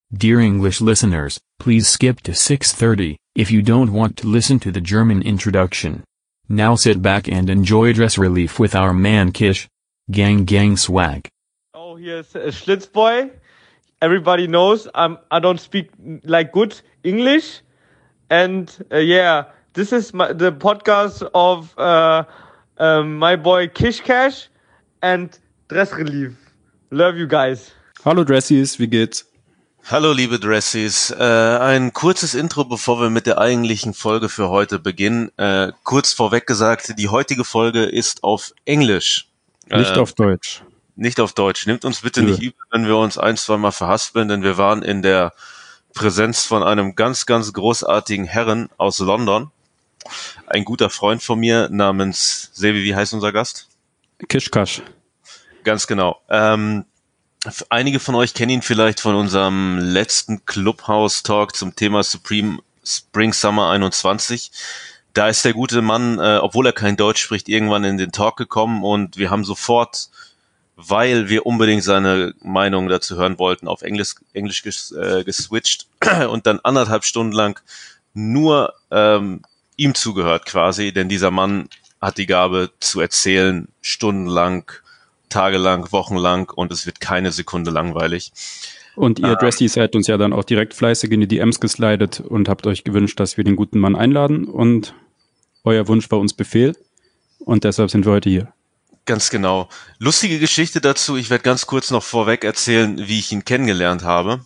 Dear English listeners, please skip to 6:30 if you don't want to listen to the German introduction. Now sit back and enjoy Dress Relief with our man Kish. Gang gang swag. Oh, here's Schlitzboy. Everybody knows I don't speak like good English. And this is the podcast of my boy Kish Cash and Dress Relief. Love you guys. Hallo Dressies, wie geht's? Hallo liebe Dressies, ein kurzes Intro, bevor wir mit der eigentlichen Folge für heute beginnen. Kurz vorweg gesagt, die heutige Folge ist auf Englisch. Nicht auf Deutsch. Nicht auf Deutsch. Nehmt uns bitte nicht übel, wenn wir uns ein-, zweimal verhaspeln, denn wir waren in der Präsenz von einem ganz, ganz großartigen Herren aus London. Ein guter Freund von mir namens, Sebi, wie heißt unser Gast? Kishkash. Ganz genau. Einige von euch kennen ihn vielleicht von unserem letzten Clubhouse-Talk zum Thema Supreme Spring Summer 21. Da ist der gute Mann, obwohl er kein Deutsch spricht, irgendwann in den Talk gekommen und wir haben sofort, weil wir unbedingt seine Meinung dazu hören wollten, auf Englisch geswitcht und dann 1,5 Stunden lang nur ihm zugehört quasi, denn dieser Mann hat die Gabe zu erzählen, stundenlang, tagelang, wochenlang und es wird keine Sekunde langweilig. Und ihr Dressies seid uns ja dann auch direkt fleißig in die DMs geslidet und habt euch gewünscht, dass wir den guten Mann einladen und euer Wunsch war uns Befehl und deshalb sind wir heute hier. Ganz genau. Lustige Geschichte dazu, ich werde ganz kurz noch vorweg erzählen, wie ich ihn kennengelernt habe.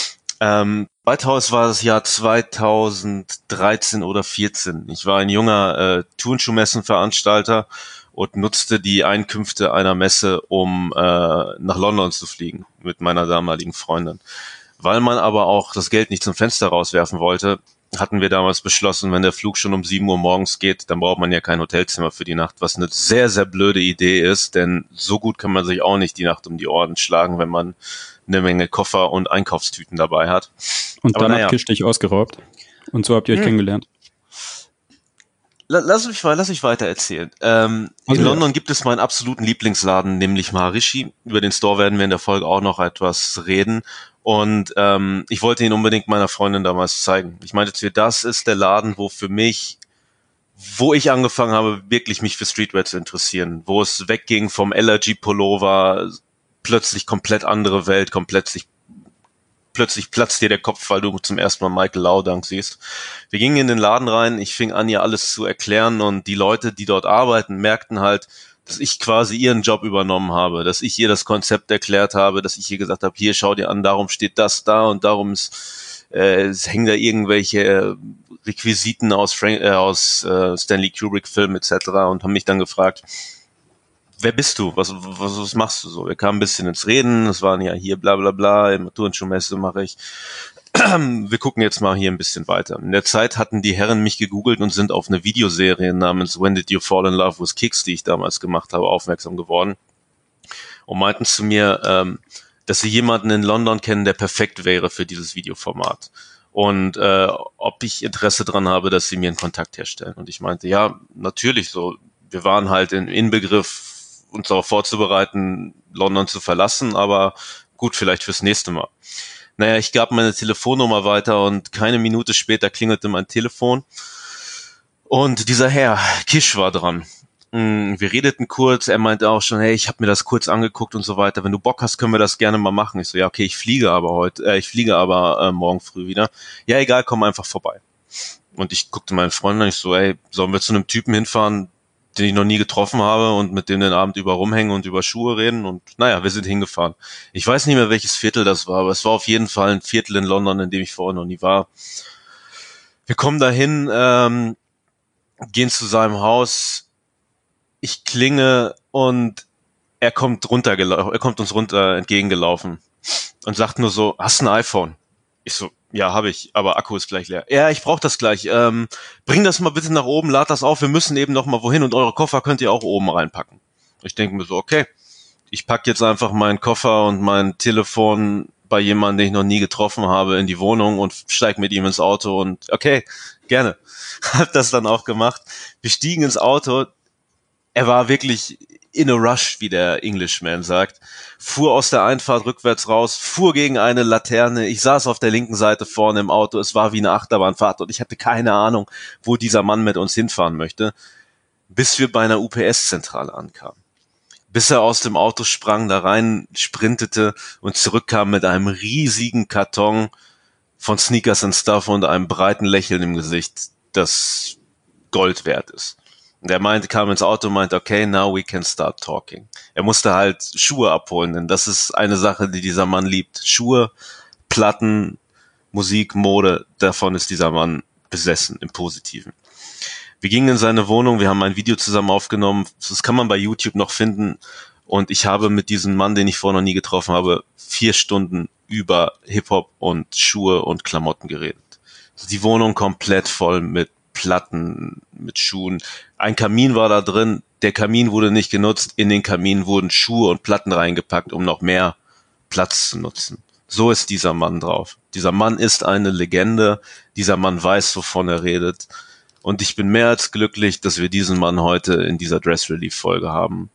War das Jahr 2013 oder 14. Ich war ein junger Turnschuhmessenveranstalter und nutzte die Einkünfte einer Messe, um nach London zu fliegen mit meiner damaligen Freundin. Weil man aber auch das Geld nicht zum Fenster rauswerfen wollte, hatten wir damals beschlossen, wenn der Flug schon um 7 Uhr morgens geht, dann braucht man ja kein Hotelzimmer für die Nacht, was eine sehr, sehr blöde Idee ist, denn so gut kann man sich auch nicht die Nacht um die Ohren schlagen, wenn man eine Menge Koffer und Einkaufstüten dabei hat. Und dann hat Kish dich ausgeraubt und so habt ihr euch kennengelernt. Lass mich weiter erzählen. In London gibt es meinen absoluten Lieblingsladen, nämlich Maharishi. Über den Store werden wir in der Folge auch noch etwas reden. Und ich wollte ihn unbedingt meiner Freundin damals zeigen. Ich meinte zu ihr, das ist der Laden, wo ich angefangen habe, wirklich mich für Streetwear zu interessieren. Wo es wegging vom LRG-Pullover, plötzlich komplett andere Welt, plötzlich platzt dir der Kopf, weil du zum ersten Mal Michael Laudang siehst. Wir gingen in den Laden rein, ich fing an, ihr alles zu erklären und die Leute, die dort arbeiten, merkten halt, dass ich quasi ihren Job übernommen habe, dass ich ihr das Konzept erklärt habe, dass ich ihr gesagt habe, hier, schau dir an, darum steht das da und darum es hängen da irgendwelche Requisiten aus Stanley Kubrick Filmen etc. und haben mich dann gefragt, wer bist du? Was machst du so? Wir kamen ein bisschen ins Reden, es waren ja hier bla bla bla, im Turnschuhmesse mache ich. Wir gucken jetzt mal hier ein bisschen weiter. In der Zeit hatten die Herren mich gegoogelt und sind auf eine Videoserie namens When Did You Fall in Love with Kicks, die ich damals gemacht habe, aufmerksam geworden. Und meinten zu mir, dass sie jemanden in London kennen, der perfekt wäre für dieses Videoformat. Und ob ich Interesse dran habe, dass sie mir einen Kontakt herstellen. Und ich meinte, ja, natürlich so. Wir waren halt in Inbegriff, uns darauf vorzubereiten, London zu verlassen, aber gut, vielleicht fürs nächste Mal. Naja, ich gab meine Telefonnummer weiter und keine Minute später klingelte mein Telefon und dieser Herr, Kish, war dran. Wir redeten kurz, er meinte auch schon, hey, ich habe mir das kurz angeguckt und so weiter, wenn du Bock hast, können wir das gerne mal machen. Ich so, ja, okay, ich fliege aber morgen früh wieder. Ja, egal, komm einfach vorbei. Und ich guckte meinen Freund an, ich so, ey, sollen wir zu einem Typen hinfahren, den ich noch nie getroffen habe und mit dem den Abend über rumhängen und über Schuhe reden und naja, wir sind hingefahren. Ich weiß nicht mehr, welches Viertel das war, aber es war auf jeden Fall ein Viertel in London, in dem ich vorher noch nie war. Wir kommen dahin, gehen zu seinem Haus, ich klinge und er kommt uns runter entgegengelaufen und sagt nur so, hast du ein iPhone? Ich so, ja, habe ich, aber Akku ist gleich leer. Ja, ich brauche das gleich. Bring das mal bitte nach oben, lad das auf, wir müssen eben noch mal wohin und eure Koffer könnt ihr auch oben reinpacken. Ich denke mir so, okay, ich pack jetzt einfach meinen Koffer und mein Telefon bei jemandem, den ich noch nie getroffen habe, in die Wohnung und steig mit ihm ins Auto und okay, gerne. Hab das dann auch gemacht. Wir stiegen ins Auto. Er war wirklich in a rush, wie der Englishman sagt, fuhr aus der Einfahrt rückwärts raus, fuhr gegen eine Laterne. Ich saß auf der linken Seite vorne im Auto. Es war wie eine Achterbahnfahrt und ich hatte keine Ahnung, wo dieser Mann mit uns hinfahren möchte, bis wir bei einer UPS-Zentrale ankamen. Bis er aus dem Auto sprang, da rein sprintete und zurückkam mit einem riesigen Karton von Sneakers and Stuff und einem breiten Lächeln im Gesicht, das Gold wert ist. Und er kam ins Auto und meinte, okay, now we can start talking. Er musste halt Schuhe abholen, denn das ist eine Sache, die dieser Mann liebt. Schuhe, Platten, Musik, Mode, davon ist dieser Mann besessen, im Positiven. Wir gingen in seine Wohnung, wir haben ein Video zusammen aufgenommen, das kann man bei YouTube noch finden. Und ich habe mit diesem Mann, den ich vorher noch nie getroffen habe, 4 Stunden über Hip-Hop und Schuhe und Klamotten geredet. Also die Wohnung komplett voll mit Platten, mit Schuhen. Ein Kamin war da drin, der Kamin wurde nicht genutzt, in den Kamin wurden Schuhe und Platten reingepackt, um noch mehr Platz zu nutzen. So ist dieser Mann drauf. Dieser Mann ist eine Legende, dieser Mann weiß, wovon er redet. Und ich bin mehr als glücklich, dass wir diesen Mann heute in dieser Dress Relief Folge haben.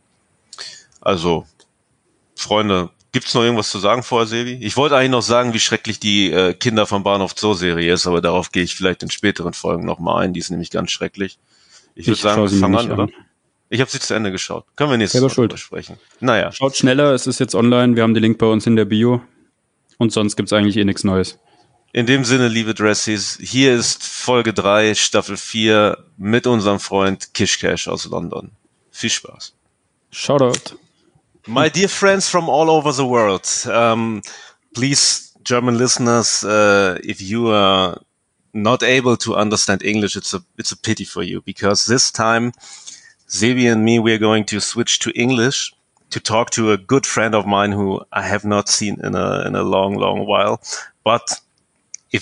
Also, Freunde, gibt's noch irgendwas zu sagen vorher, Sevi? Ich wollte eigentlich noch sagen, wie schrecklich die Kinder vom Bahnhof Zoo Serie ist, aber darauf gehe ich vielleicht in späteren Folgen nochmal ein. Die ist nämlich ganz schrecklich. Ich würde sagen, wir fangen an, oder? Ich habe sie zu Ende geschaut. Können wir nächstes Mal drüber sprechen. Naja. Schaut schneller, es ist jetzt online. Wir haben den Link bei uns in der Bio. Und sonst gibt's eigentlich nichts Neues. In dem Sinne, liebe Dressies, hier ist Folge 3, Staffel 4 mit unserem Freund Kish Cash aus London. Viel Spaß. Shoutout. My dear friends from all over the world, please, German listeners, if you are not able to understand English, it's a pity for you, because this time, Sebi and me, we're going to switch to English to talk to a good friend of mine who I have not seen in a long while. But if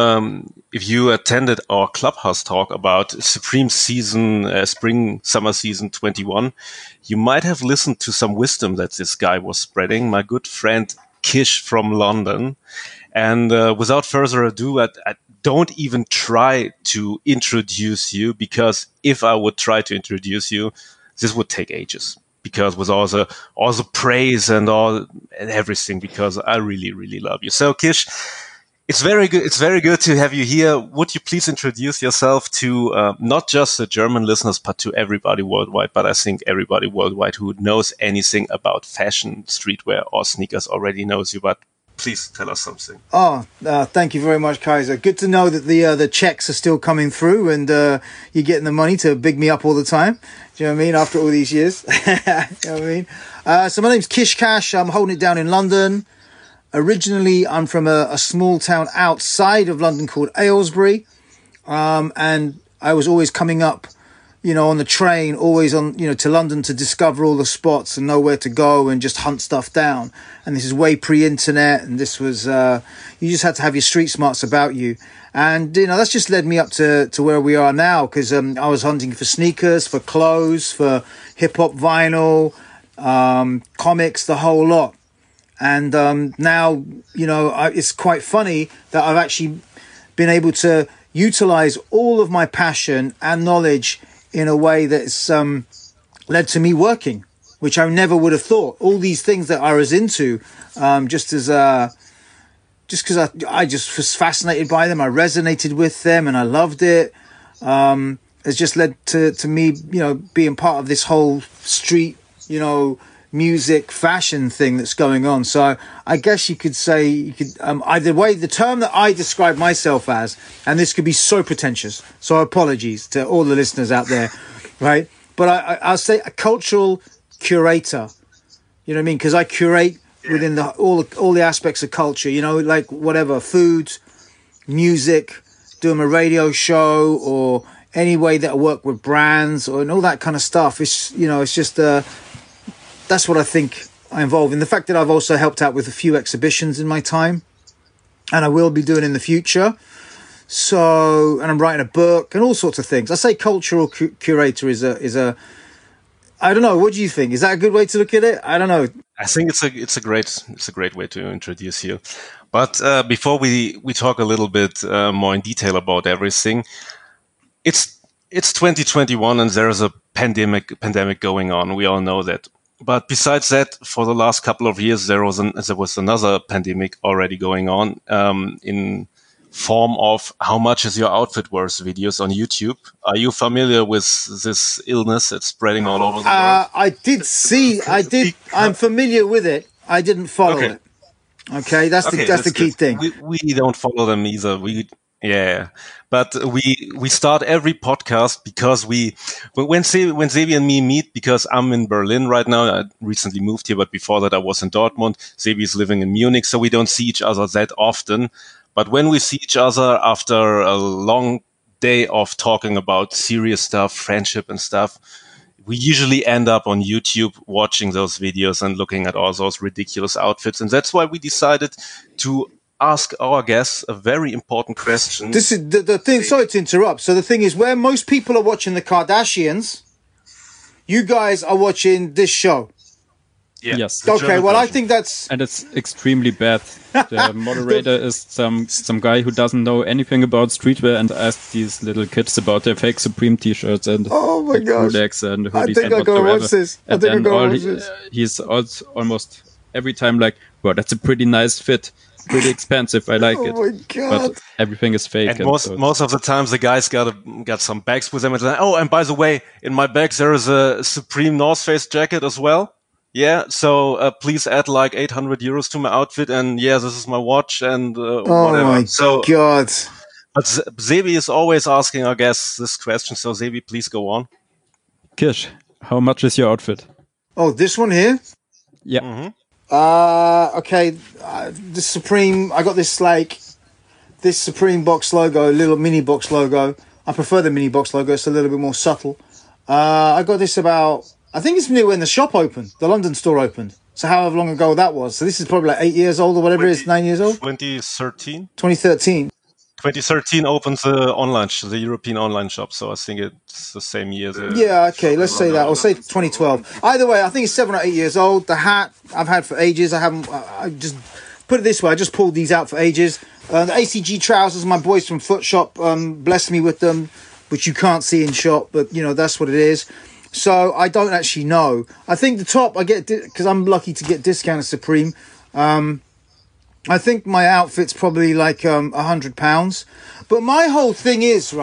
you attended our Clubhouse talk about Supreme season, summer season 21, you might have listened to some wisdom that this guy was spreading, my good friend Kish from London. And without further ado, I don't even try to introduce you, because if I would try to introduce you, this would take ages. Because with all the praise and everything, because I really love you. So Kish, it's very good. It's very good to have you here. Would you please introduce yourself to not just the German listeners, but to everybody worldwide? But I think everybody worldwide who knows anything about fashion, streetwear, or sneakers already knows you. But please tell us something. Thank you very much, Kaiser. Good to know that the checks are still coming through, and you're getting the money to big me up all the time. Do you know what I mean? After all these years, you know what I mean? So my name's Kish Cash. I'm holding it down in London. Originally, I'm from a small town outside of London called Aylesbury. And I was always coming up, on the train, always on, to London to discover all the spots and know where to go and just hunt stuff down. And this is way pre-internet. And this was, you just had to have your street smarts about you. And, that's just led me up to where we are now, because I was hunting for sneakers, for clothes, for hip-hop vinyl, comics, the whole lot. And now, it's quite funny that I've actually been able to utilize all of my passion and knowledge in a way that's led to me working, which I never would have thought. All these things that I was into, just because I just was fascinated by them, I resonated with them, and I loved it. Has just led to me, being part of this whole street, music fashion thing that's going on. So I guess you could say, the term that I describe myself as, and this could be so pretentious, so apologies to all the listeners out there, right? But I'll say a cultural curator, you know what I mean? Because I curate within all the aspects of culture, like whatever, food, music, doing a radio show, or any way that I work with brands, and all that kind of stuff. It's, it's just that's what I think I involve in. The fact that I've also helped out with a few exhibitions in my time, and I will be doing in the future. So, and I'm writing a book and all sorts of things. I say cultural curator is a I don't know. What do you think? Is that a good way to look at it? I don't know. I think it's a great way to introduce you. But before we talk a little bit more in detail about everything, it's it's 2021 and there's a pandemic going on. We all know that. But besides that, for the last couple of years, there was another pandemic already going on, in form of how much is your outfit worth videos on YouTube. Are you familiar with this illness that's spreading all over the world? I'm familiar with it. I didn't follow it. Okay, that's the key thing. We don't follow them either. But we start every podcast because when Sebi and me meet, because I'm in Berlin right now. I recently moved here, but before that I was in Dortmund. Sebi is living in Munich, so we don't see each other that often. But when we see each other after a long day of talking about serious stuff, friendship and stuff, we usually end up on YouTube watching those videos and looking at all those ridiculous outfits. And that's why we decided to ask our guests a very important question. This is the thing. Sorry to interrupt. So the thing is, where most people are watching the Kardashians, you guys are watching this show. Yeah. Yes. Okay, well, I think that's... And it's extremely bad. The moderator is some guy who doesn't know anything about streetwear and asked these little kids about their fake Supreme t-shirts and Rolex and hoodies. I think I'm going to watch this. He's also almost every time like, well, that's a pretty nice fit. Pretty expensive. I like it. Oh my God. But everything is fake. And most of the times the guys got some bags with them. And and by the way, in my bag there is a Supreme North Face jacket as well. Yeah, so please add like 800 euros to my outfit, and this is my watch and whatever. Oh my God! But Sebi is always asking our guests this question. So Sebi, please go on. Kish, how much is your outfit? Oh, this one here. Yeah. Mm-hmm. Okay. The Supreme. I got this Supreme box logo, little mini box logo. I prefer the mini box logo. It's a little bit more subtle. I got this I think it's new when the shop opened, the London store opened. So however long ago that was. So this is probably like 8 years old or whatever it is, 9 years old? 2013. 2013 opens the European online shop. So I think it's the same year. Okay, let's say that. Or say 2012. Either way, I think it's 7 or 8 years old. The hat I've had for ages. I just put it this way. I just pulled these out for ages. The ACG trousers, my boys from Footshop blessed me with them, which you can't see in shop, but that's what it is. So I don't actually know. I think the top I get because I'm lucky to get discounted Supreme. I think my outfit's probably like £100. But my whole thing is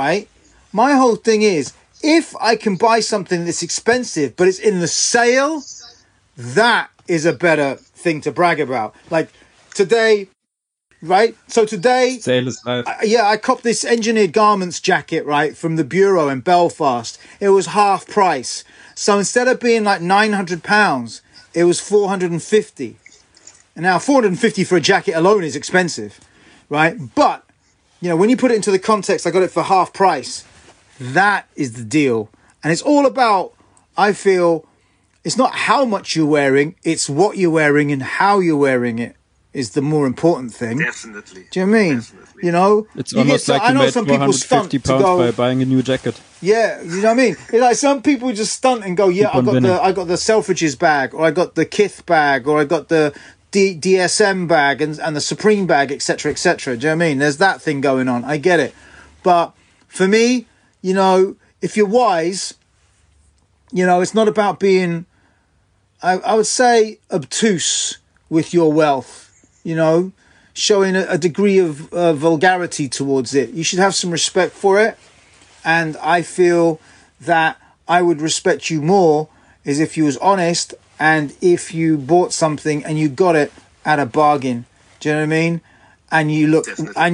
if I can buy something that's expensive but it's in the sale, that is a better thing to brag about. Like today. Right, so today, sale is life. I copped this engineered garments jacket, right, from the Bureau in Belfast. It was half price. So instead of being like £900, it was £450. And now £450 for a jacket alone is expensive, right? But, when you put it into the context, I got it for half price. That is the deal. And it's all about, I feel, it's not how much you're wearing, it's what you're wearing and how you're wearing it. Is the more important thing. Definitely. Do you know what I mean? Definitely. It's almost like you made £450 by buying a new jacket. Yeah, you know what I mean? It's like some people just stunt and go, I got the Selfridges bag, or I got the Kith bag, or I got the DSM bag and the Supreme bag, etc., etc. Do you know what I mean? There's that thing going on. I get it. But for me, if you're wise, it's not about being, I would say, obtuse with your wealth. Showing a degree of vulgarity towards it. You should have some respect for it. And I feel that I would respect you more is if you was honest and if you bought something and you got it at a bargain. Do you know what I mean? And you look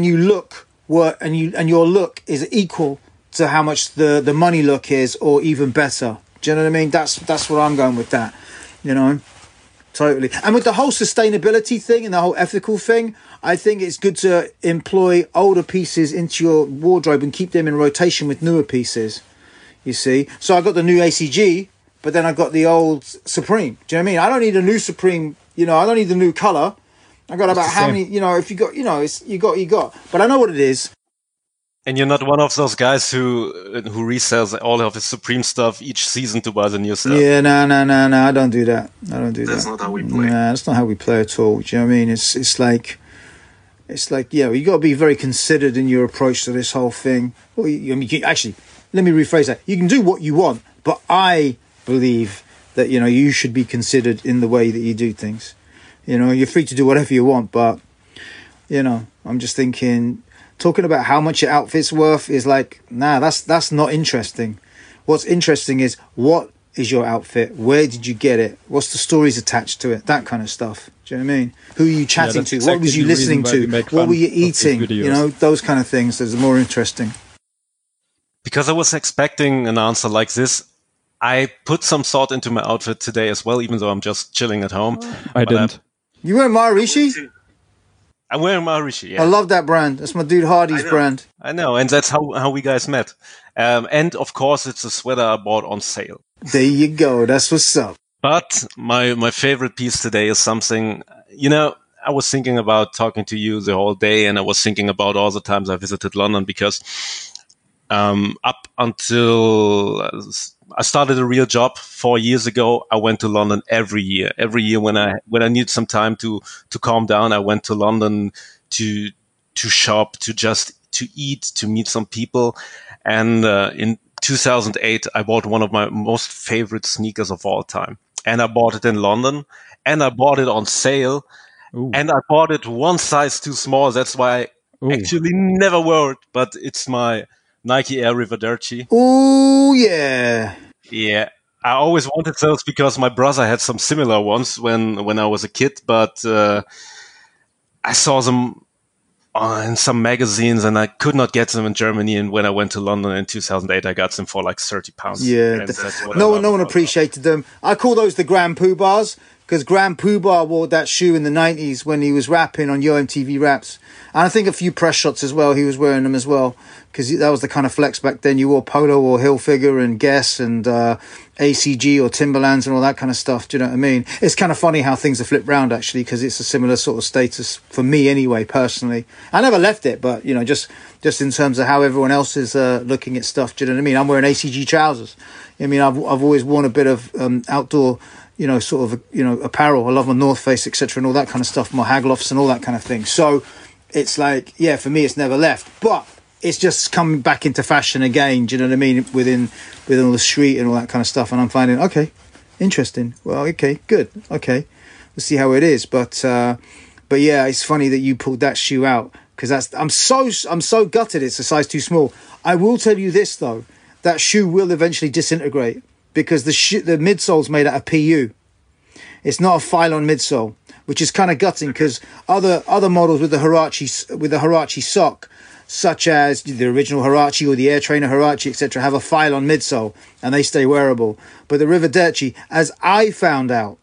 and your look is equal to how much the money look is, or even better. Do you know what I mean? That's where I'm going with that. Totally. And with the whole sustainability thing and the whole ethical thing, I think it's good to employ older pieces into your wardrobe and keep them in rotation with newer pieces, you see. So I got the new ACG, but then I got the old Supreme. Do you know what I mean? I don't need a new Supreme, I don't need the new colour. I got about how many, if you got, it's you got. But I know what it is. And you're not one of those guys who resells all of his Supreme stuff each season to buy the new stuff. Yeah, no. I don't do that. That's not how we play. Nah, that's not how we play at all. Do you know what I mean? It's like, you got to be very considered in your approach to this whole thing. Well, you let me rephrase that. You can do what you want, but I believe that, you know, you should be considered in the way that you do things. You know, you're free to do whatever you want, but, you know, I'm just thinking, talking about how much your outfit's worth is like, nah, that's not interesting. What's interesting is, what is your outfit? Where did you get it? What's the stories attached to it? That kind of stuff. Do you know what I mean? Who are you chatting to? What was you listening to? What were you eating? You know, those kind of things. Those are more interesting. Because I was expecting an answer like this, I put some thought into my outfit today as well, even though I'm just chilling at home. I didn't. You wearing Maharishi? I'm wearing Maharishi, yeah. I love that brand. That's my dude Hardy's brand. I know, and that's how we guys met. And of course, it's a sweater I bought on sale. There you go. That's what's up. But my favorite piece today is something, you know, I was thinking about talking to you the whole day, and I was thinking about all the times I visited London, because up until I started a real job 4 years ago, I went to London every year. Every year when I need some time to calm down, I went to London to shop, to eat, to meet some people. And in 2008, I bought one of my most favorite sneakers of all time. And I bought it in London, and I bought it on sale. Ooh. And I bought it one size too small. That's why I actually never wore it, but it's my Nike Air Rivederci. Oh, yeah. Yeah. I always wanted those because my brother had some similar ones when I was a kid, but I saw them in some magazines and I could not get them in Germany. And when I went to London in 2008, I got them for like £30. Yeah. No one appreciated them. I call those the Grand Poobahs, because Grand Poobah wore that shoe in the 90s when he was rapping on Yo MTV Raps. And I think a few press shots as well, he was wearing them as well, because that was the kind of flex back then. You wore Polo or Hilfiger and Guess and ACG or Timberlands and all that kind of stuff. Do you know what I mean? It's kind of funny how things are flipped round, actually, because it's a similar sort of status for me anyway, personally. I never left it, but, you know, just in terms of how everyone else is looking at stuff. Do you know what I mean? I'm wearing ACG trousers. I mean, I've always worn a bit of outdoor, you know, sort of, you know, apparel. I love my North Face, etc., and all that kind of stuff, my Haglofs and all that kind of thing. So it's like, yeah, for me, it's never left. But it's just coming back into fashion again. Do you know what I mean? Within all the street and all that kind of stuff. And I'm finding, okay, interesting. Well, okay, good. Okay, we'll see how it is. But yeah, it's funny that you pulled that shoe out, because I'm so gutted. It's a size too small. I will tell you this though, that shoe will eventually disintegrate, because the midsole's made out of PU. It's not a Phylon midsole, which is kind of gutting, because other models with the Huarache sock, such as the original Huarache or the Air Trainer Huarache, etc., have a Phylon midsole and they stay wearable. But the Rivederci, as I found out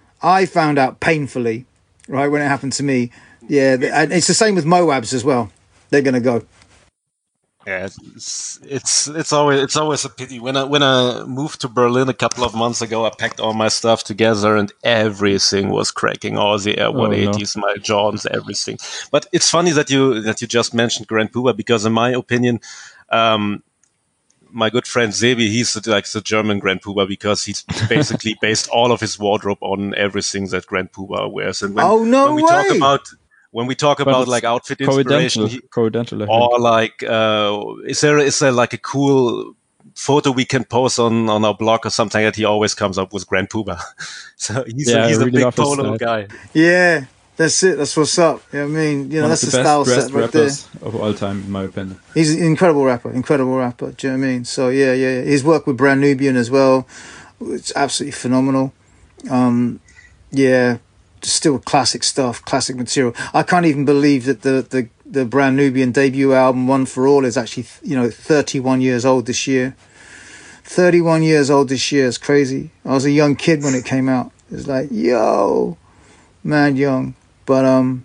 painfully, right, when it happened to me, yeah, and it's the same with Moabs as well. They're going to go. Yeah, it's always a pity. When I moved to Berlin a couple of months ago, I packed all my stuff together and everything was cracking. All the Air 180s, my Jordans, everything. But it's funny that you just mentioned Grand Poobah, because in my opinion, my good friend Sebi, he's like the German Grand Poobah, because he's basically based all of his wardrobe on everything that Grand Poobah wears. And when we talk about like outfit inspiration, or like, is there like a cool photo we can post on our blog or something, that he always comes up with Grand Poobah? So he's a big polo guy. Yeah, that's it. That's what's up. You know what I mean? You know, that's the style set right there. Of all time, in my opinion. He's an incredible rapper. Do you know what I mean? So yeah. His work with Brand Nubian as well, it's absolutely phenomenal. Yeah. Still classic stuff, classic material. I can't even believe that the Brand Nubian debut album, One for All, is actually, you know, 31 years old this year. 31 years old this year. It's crazy. I was a young kid when it came out. It's like, yo, man, young. But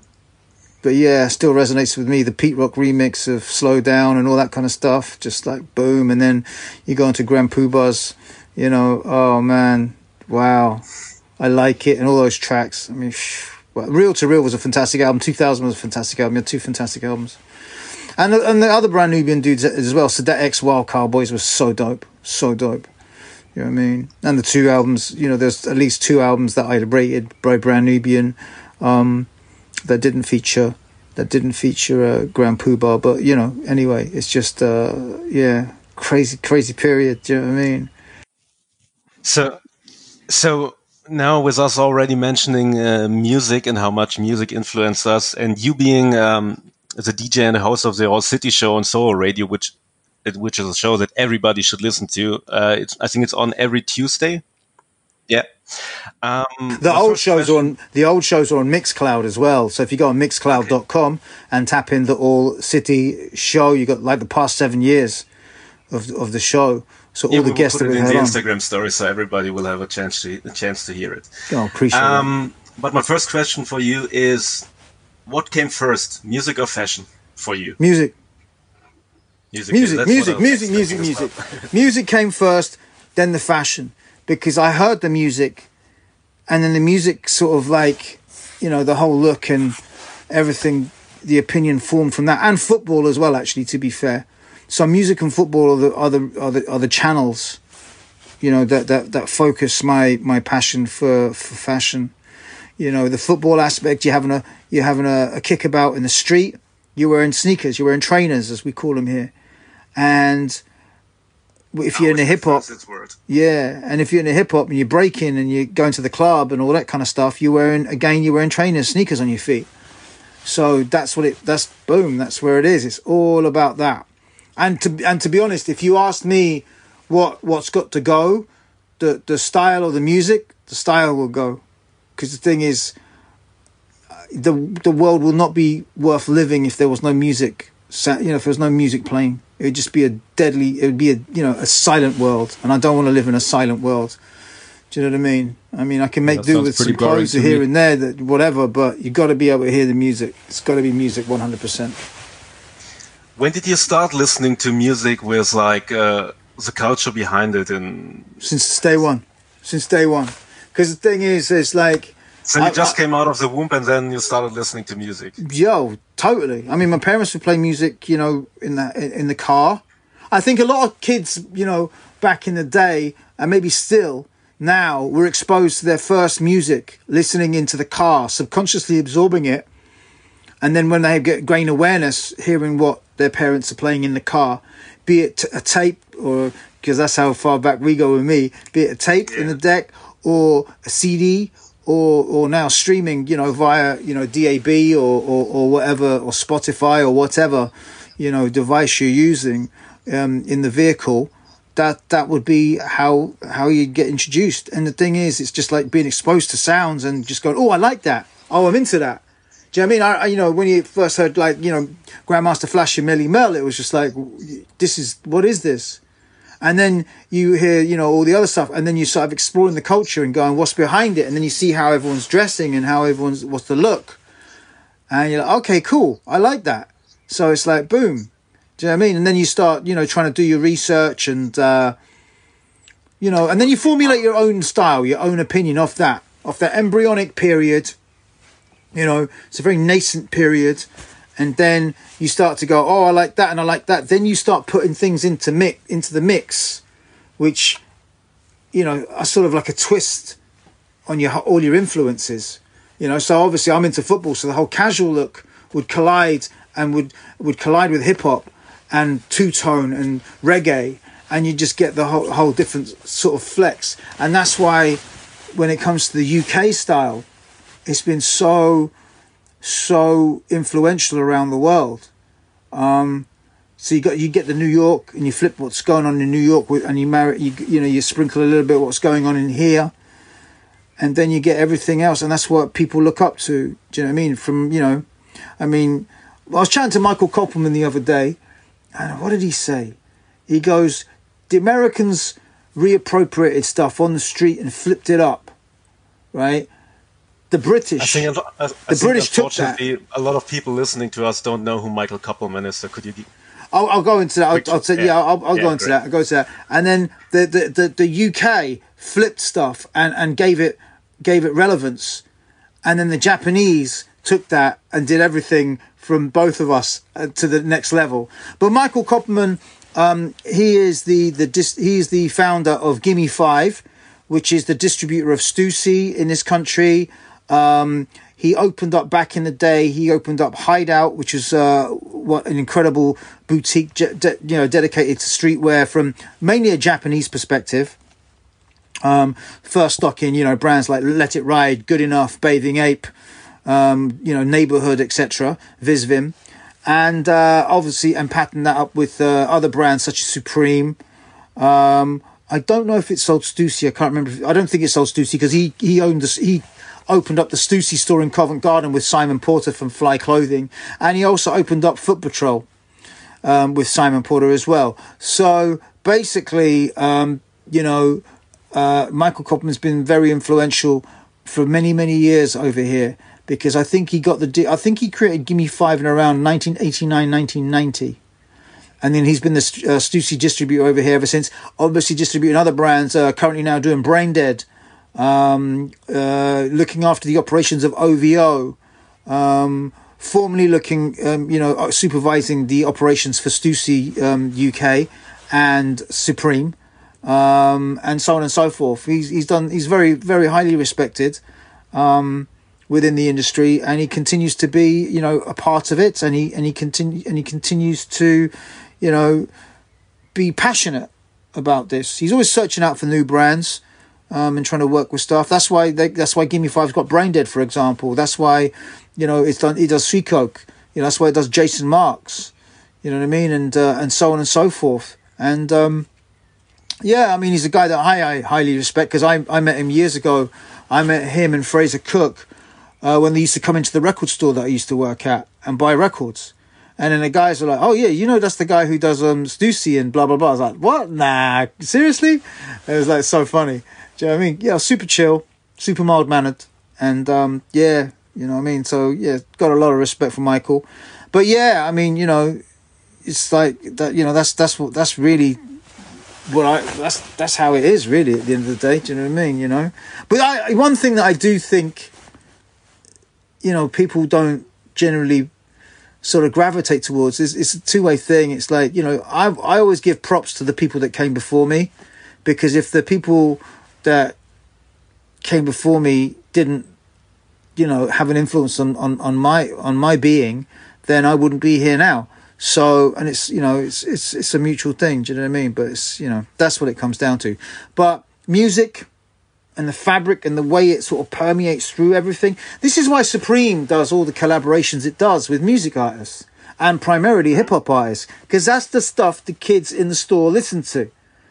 yeah, still resonates with me. The Pete Rock remix of Slow Down and all that kind of stuff, just like boom. And then you go into Grand Poobah's, you know, oh man, wow. I like it, and all those tracks. I mean, Real to Real was a fantastic album. 2000 was a fantastic album. You had two fantastic albums. And the other Brand Nubian dudes as well. So that X Wild Cowboys was so dope. So dope. You know what I mean? And the two albums, you know, there's at least two albums that I rated by Brand Nubian that didn't feature Grand Poobah. But, you know, anyway, it's just, yeah, crazy period. Do you know what I mean? So now with us already mentioning music and how much music influenced us, and you being the DJ and the host of the All City Show on Soho Radio, which is a show that everybody should listen to. I think it's on every Tuesday. Yeah. The old shows are on Mixcloud as well. So if you go on mixcloud.com and tap in the All City Show, you got like the past 7 years of the show. So all the guests that we had in the on. Instagram story, so everybody will have a chance to hear it. Oh, appreciate it. But my first question for you is, what came first, music or fashion for you? Music. Music. Music came first, then the fashion, because I heard the music, and then the music sort of like, you know, the whole look and everything, the opinion formed from that, and football as well. Actually, to be fair. So music and football are the channels, you know, that focus my passion for fashion. You know, the football aspect, you're having a kickabout in the street, you're wearing sneakers, you're wearing trainers, as we call them here, and if you're in a hip hop, and if you're in a hip hop and you're breaking and you're going to the club and all that kind of stuff, you're wearing trainers, sneakers on your feet. So that's where it is. It's all about that. And to be honest, if you asked me what's got to go, the style or the music, the style will go, because the thing is, the world will not be worth living if there was no music. You know, if there was no music playing, it would just be a silent world, and I don't want to live in a silent world. Do you know what I mean? I mean, I can make do with some clothes here and there, whatever, but you got to be able to hear the music. It's got to be music 100%. When did you start listening to music with like the culture behind it? Since day one, because the thing is, it's like. So you just came out of the womb and then you started listening to music. Yo, totally. I mean, my parents would play music, you know, in the car. I think a lot of kids, you know, back in the day, and maybe still now, were exposed to their first music, listening into the car, subconsciously absorbing it. And then when they gain awareness, hearing what their parents are playing in the car, be it a tape, or because that's how far back we go with me, be it a tape in the deck or a CD, or now streaming, you know, via, you know, DAB or whatever, or Spotify or whatever, you know, device you're using in the vehicle. That would be how you get introduced. And the thing is, it's just like being exposed to sounds and just going, oh, I like that. Oh, I'm into that. Do you know what I mean? You know, when you first heard, like, you know, Grandmaster Flash and Melly Mel, it was just like, what is this? And then you hear, you know, all the other stuff, and then you sort of exploring the culture and going, what's behind it? And then you see how everyone's dressing and how what's the look. And you're like, okay, cool. I like that. So it's like, boom. Do you know what I mean? And then you start, you know, trying to do your research and, you know, and then you formulate your own style, your own opinion off that embryonic period. You know, it's a very nascent period. And then you start to go, oh, I like that and I like that. Then you start putting things into the mix, which, you know, are sort of like a twist on all your influences. You know, so obviously I'm into football, so the whole casual look would collide and would collide with hip hop and two-tone and reggae, and you just get the whole different sort of flex. And that's why when it comes to the UK style, it's been so influential around the world. So you get the New York, and you flip what's going on in New York, and you sprinkle a little bit of what's going on in here, and then you get everything else, and that's what people look up to. Do you know what I mean? From, you know, I mean, I was chatting to Michael Koppelman the other day, and what did he say? He goes, the Americans reappropriated stuff on the street and flipped it up, right? The British, I think British took that. A lot of people listening to us don't know who Michael Koppelman is. So could you? I'll go into that. I'll say, I'll go into that. I'll go to that. And then the UK flipped stuff and gave it relevance, and then the Japanese took that and did everything from both of us to the next level. But Michael Koppelman, he is the founder of Gimme 5, which is the distributor of Stussy in this country. he opened up back in the day. He opened up Hideout, which is what an incredible boutique, dedicated to streetwear from mainly a Japanese perspective. First stock in brands like Let It Ride, Good Enough, Bathing Ape, Neighborhood, etc., Visvim, and obviously and patterned that up with other brands such as Supreme. I don't know if it sold Stussy. I can't remember. I don't think it sold Stussy because he opened up the Stussy store in Covent Garden with Simon Porter from Fly Clothing, and he also opened up Foot Patrol with Simon Porter as well. So basically, Michael Kopman's been very influential for many years over here because I think he created Gimme 5 in around 1989, 1990. And then he's been the Stussy distributor over here ever since. Obviously distributing other brands. Currently now doing Brain Dead. Looking after the operations of OVO. Formerly supervising the operations for Stussy UK and Supreme. And so on and so forth. He's very, very highly respected within the industry, and he continues to be a part of it, and he continues to be passionate about this. He's always searching out for new brands and trying to work with stuff. That's why Gimme 5's got Brain Dead, for example. That's why he does Seacoke. That's why it does Jason Marks. You know what I mean, and so on and so forth. And he's a guy that I highly respect because I met him years ago. I met him and Fraser Cook when they used to come into the record store that I used to work at and buy records. And then the guys were like, oh, yeah, that's the guy who does Stussy and blah, blah, blah. I was like, what? Nah, seriously? It was like so funny. Do you know what I mean? Yeah, super chill, super mild-mannered. And, you know what I mean? So, yeah, got a lot of respect for Michael. But, yeah, I mean, it's like, that. That's really that's how it is, really, at the end of the day. Do you know what I mean? But one thing that I do think, people don't generally sort of gravitate towards it's a two-way thing. It's like, I always give props to the people that came before me, because if the people that came before me didn't have an influence on my being, then I wouldn't be here now. So, and it's it's a mutual thing, do you know what I mean? But it's that's what it comes down to. But music and the fabric and the way it sort of permeates through everything. This is why Supreme does all the collaborations it does with music artists and primarily hip-hop artists, because that's the stuff the kids in the store listen to.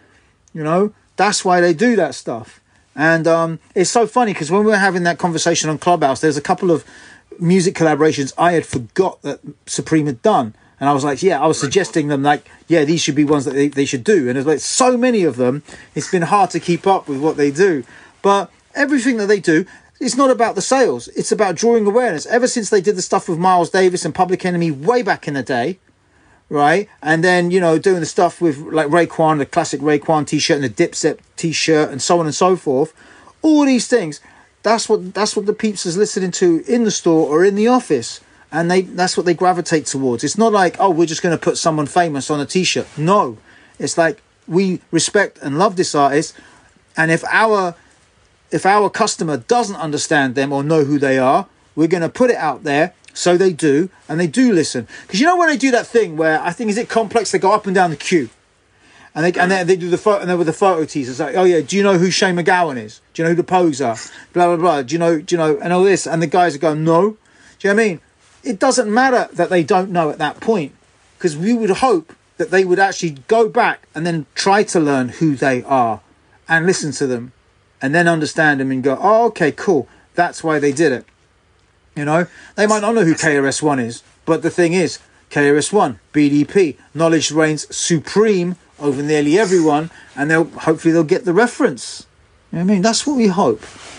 That's why they do that stuff. And it's so funny because when we were having that conversation on Clubhouse, there's a couple of music collaborations I had forgot that Supreme had done. And I was like, I was suggesting them these should be ones that they should do. And there's like so many of them, it's been hard to keep up with what they do. But everything that they do, it's not about the sales. It's about drawing awareness. Ever since they did the stuff with Miles Davis and Public Enemy way back in the day, right? And then, doing the stuff with like Raekwon, the classic Raekwon t-shirt and the Dipset t-shirt and so on and so forth. All these things, that's what the peeps is listening to in the store or in the office. And that's what they gravitate towards. It's not like, we're just going to put someone famous on a t-shirt. No, it's like we respect and love this artist. And if our customer doesn't understand them or know who they are, we're going to put it out there so they do, and they do listen. Because when they do that thing where, I think, is it Complex, they go up and down the queue, and they do the photo, and they're with the photo teasers, like, oh yeah, do you know who Shane McGowan is? Do you know who the Pogues are? Blah, blah, blah. Do you know, and all this, and the guys are going, no. Do you know what I mean? It doesn't matter that they don't know at that point, because we would hope that they would actually go back and then try to learn who they are and listen to them. And then understand them and go, oh, okay, cool. That's why they did it. They might not know who KRS-One is, but the thing is, KRS-One, BDP, knowledge reigns supreme over nearly everyone, and hopefully they'll get the reference. You know what I mean? That's what we hope,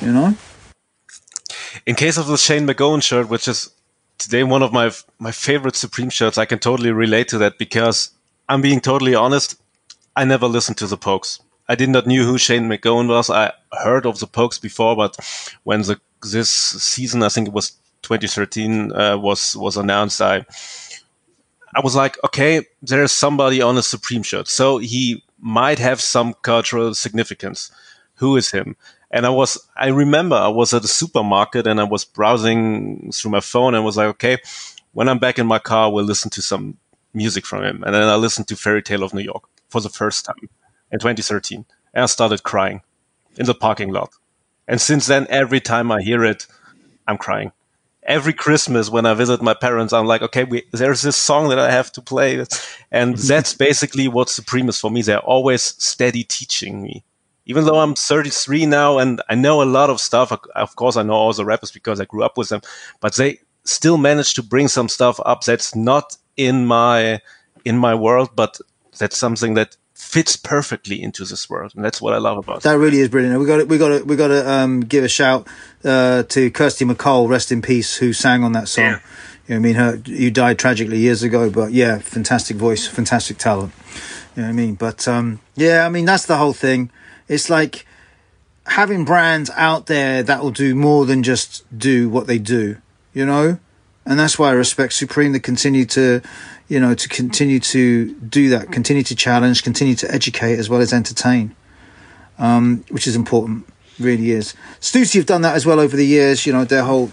In case of the Shane McGowan shirt, which is today one of my favorite Supreme shirts, I can totally relate to that because I'm being totally honest, I never listened to the Pogues. I did not knew who Shane McGowan was. I heard of the Pogues before, but when this season, I think it was 2013, was announced, I was like, okay, there's somebody on a Supreme shirt, so he might have some cultural significance. Who is him? And I remember I was at a supermarket and I was browsing through my phone and was like, okay, when I'm back in my car, we'll listen to some music from him. And then I listened to Fairy Tale of New York for the first time in 2013. And I started crying in the parking lot. And since then, every time I hear it, I'm crying. Every Christmas when I visit my parents, I'm like, okay, there's this song that I have to play. And that's basically what Supreme is for me. They're always steady teaching me. Even though I'm 33 now and I know a lot of stuff, of course, I know all the rappers because I grew up with them, but they still manage to bring some stuff up that's not in my world, but that's something that fits perfectly into this world, and that's what I love about it. That really is brilliant. We got to give a shout to Kirsty MacColl, rest in peace, who sang on that song. Yeah. You know what I mean? You died tragically years ago, but yeah, fantastic voice, fantastic talent. You know what I mean? But yeah, I mean, that's the whole thing. It's like having brands out there that will do more than just do what they do, you know? And that's why I respect Supreme to continue to, you know, to continue to do that, continue to challenge, continue to educate as well as entertain, which is important, really is. Stussy have done that as well over the years, you know, their whole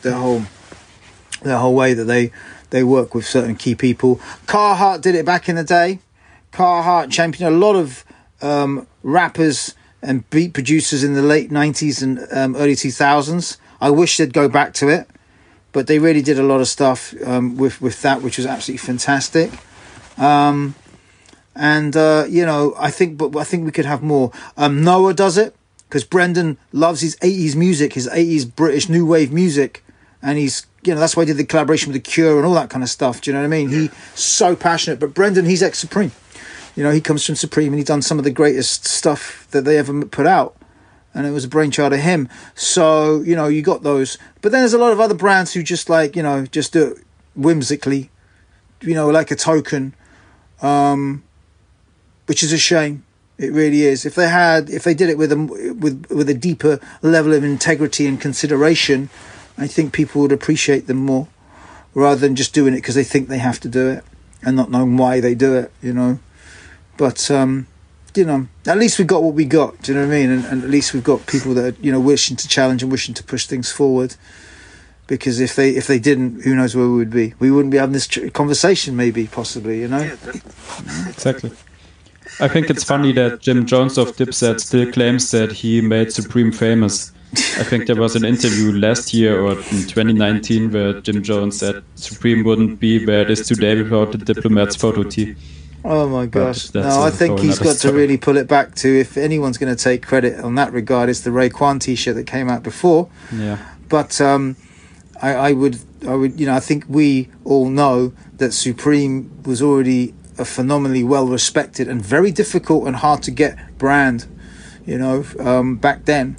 way that they work with certain key people. Carhartt did it back in the day. Carhartt championed a lot of rappers and beat producers in the late 90s and early 2000s. I wish they'd go back to it, but they really did a lot of stuff with that, which was absolutely fantastic. You know, I think we could have more. Noah does it because Brendan loves his 80s music, his 80s British new wave music, and he's, you know, that's why he did the collaboration with The Cure and all that kind of stuff. Do you know what I mean? He's so passionate. But Brendan, he's ex-Supreme. You know, he comes from Supreme and he's done some of the greatest stuff that they ever put out. And it was a brainchild of him. So, you know, you got those. But then there's a lot of other brands who just like, you know, just do it whimsically, you know, like a token, which is a shame. It really is. If they did it with a deeper level of integrity and consideration, I think people would appreciate them more rather than just doing it because they think they have to do it and not knowing why they do it, you know. But, you know, at least we got what we got. Do you know what I mean? And at least we've got people that are, you know, wishing to challenge and wishing to push things forward. Because if they didn't, who knows where we would be? We wouldn't be having this conversation, maybe, possibly. You know? Yeah, exactly. I think it's funny that Jim Jones of Dipset still claims that he made Supreme famous. I think there was an interview last year or in 2019 where Jim Jones said Supreme wouldn't be where it is today without the Diplomat's photo tee. Oh my gosh. No, I think he's got to really pull it back to, if anyone's going to take credit on that regard, it's the Raekwon t-shirt that came out before. Yeah. But I would, you know, I think we all know that Supreme was already a phenomenally well respected and very difficult and hard to get brand, you know, back then.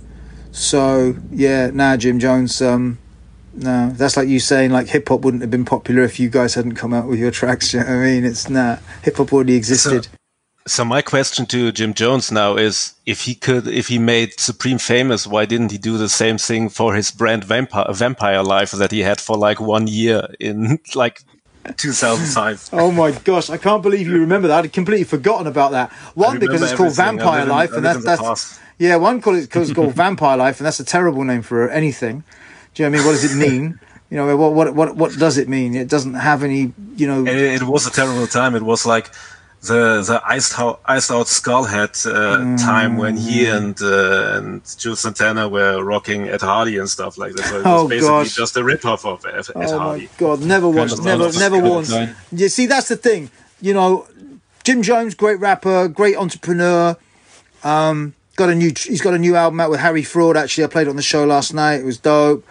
So yeah, Jim Jones, no, that's like you saying like hip hop wouldn't have been popular if you guys hadn't come out with your tracks. You know what I mean? It's hip hop already existed. So my question to Jim Jones now is, if he made Supreme famous, why didn't he do the same thing for his brand Vampire Life that he had for like 1 year in like 2005? Oh my gosh, I can't believe you remember that. I'd completely forgotten about that. One, because it's called Vampire Life, and that's yeah. One because it's called Vampire Life, and that's a terrible name for anything. Do you know what I mean? What does it mean? You know, what does it mean? It doesn't have any, you know. It was a terrible time. It was like the iced out Skullhead time when he and Jules Santana were rocking Ed Hardy and stuff like that. So it was basically just a rip-off of Ed Hardy. Oh my God, never once. You see, that's the thing. You know, Jim Jones, great rapper, great entrepreneur. He's got a new album out with Harry Fraud. Actually, I played it on the show last night. It was dope.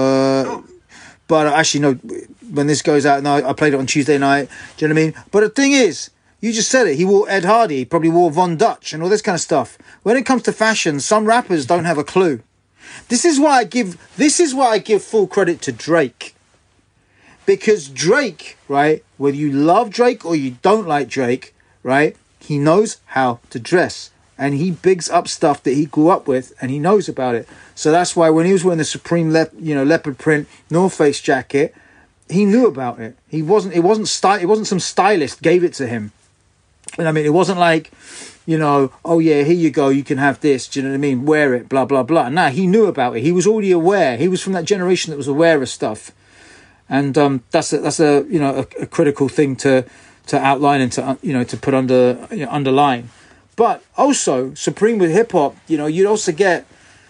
But actually, no, when this goes out, no, I played it on Tuesday night. Do you know what I mean? But the thing is, you just said it. He wore Ed Hardy. He probably wore Von Dutch and all this kind of stuff. When it comes to fashion, some rappers don't have a clue. This is why I give full credit to Drake. Because Drake, right, whether you love Drake or you don't like Drake, right, he knows how to dress. And he bigs up stuff that he grew up with, and he knows about it. So that's why when he was wearing the Supreme, leopard print North Face jacket, he knew about it. It wasn't some stylist gave it to him. And I mean, it wasn't like, oh yeah, here you go, you can have this, do you know what I mean? Wear it, blah, blah, blah. Now, he knew about it. He was already aware. He was from that generation that was aware of stuff. And that's a critical thing to outline and to put underline. But also, Supreme with hip hop, you'd also get,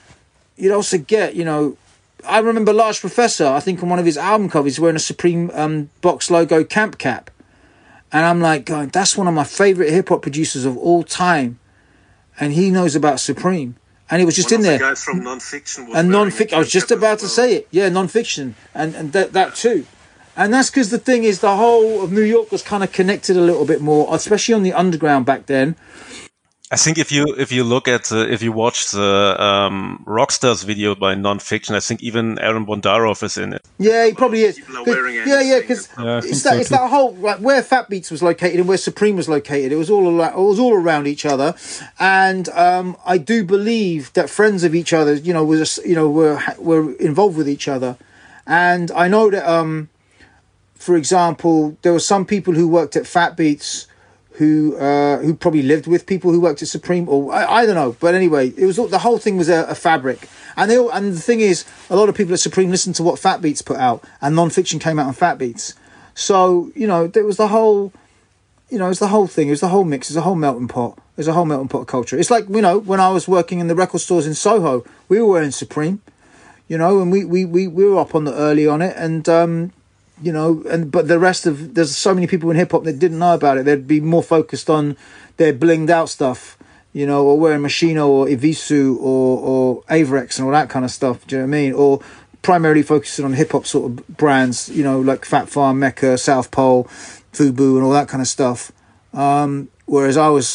I remember Large Professor, I think on one of his album covers, wearing a Supreme box logo camp cap. And I'm like, going, that's one of my favorite hip hop producers of all time. And he knows about Supreme. And it was just in there. One of the guys from Nonfiction and Nonfiction, I was just about to say it. Yeah, Nonfiction. And that too. And that's because the thing is, the whole of New York was kind of connected a little bit more, especially on the underground back then. I think if you watch the Rockstars video by Nonfiction, I think even Aaron Bondarov is in it. Yeah, he probably is. Because it's that whole where Fat Beats was located and where Supreme was located. It was all around each other, and I do believe that friends of each other, were involved with each other, and I know that for example, there were some people who worked at Fat Beats who probably lived with people who worked at Supreme, or I don't know. But anyway, it was the whole thing was a fabric. And the thing is, a lot of people at Supreme listened to what Fat Beats put out, and Nonfiction came out on Fat Beats. So, there was the whole, it was the whole thing. It was the whole mix. It was a whole melting pot. It was a whole melting pot of culture. It's like, when I was working in the record stores in Soho, we were wearing Supreme, and we were up on the early on it, and but the rest of, there's so many people in hip hop that didn't know about it. They'd be more focused on their blinged out stuff, or wearing Machino or Evisu or Averex and all that kind of stuff. Do you know what I mean? Or primarily focusing on hip hop sort of brands, like Fat Farm, Mecca, South Pole, Fubu, and all that kind of stuff. Whereas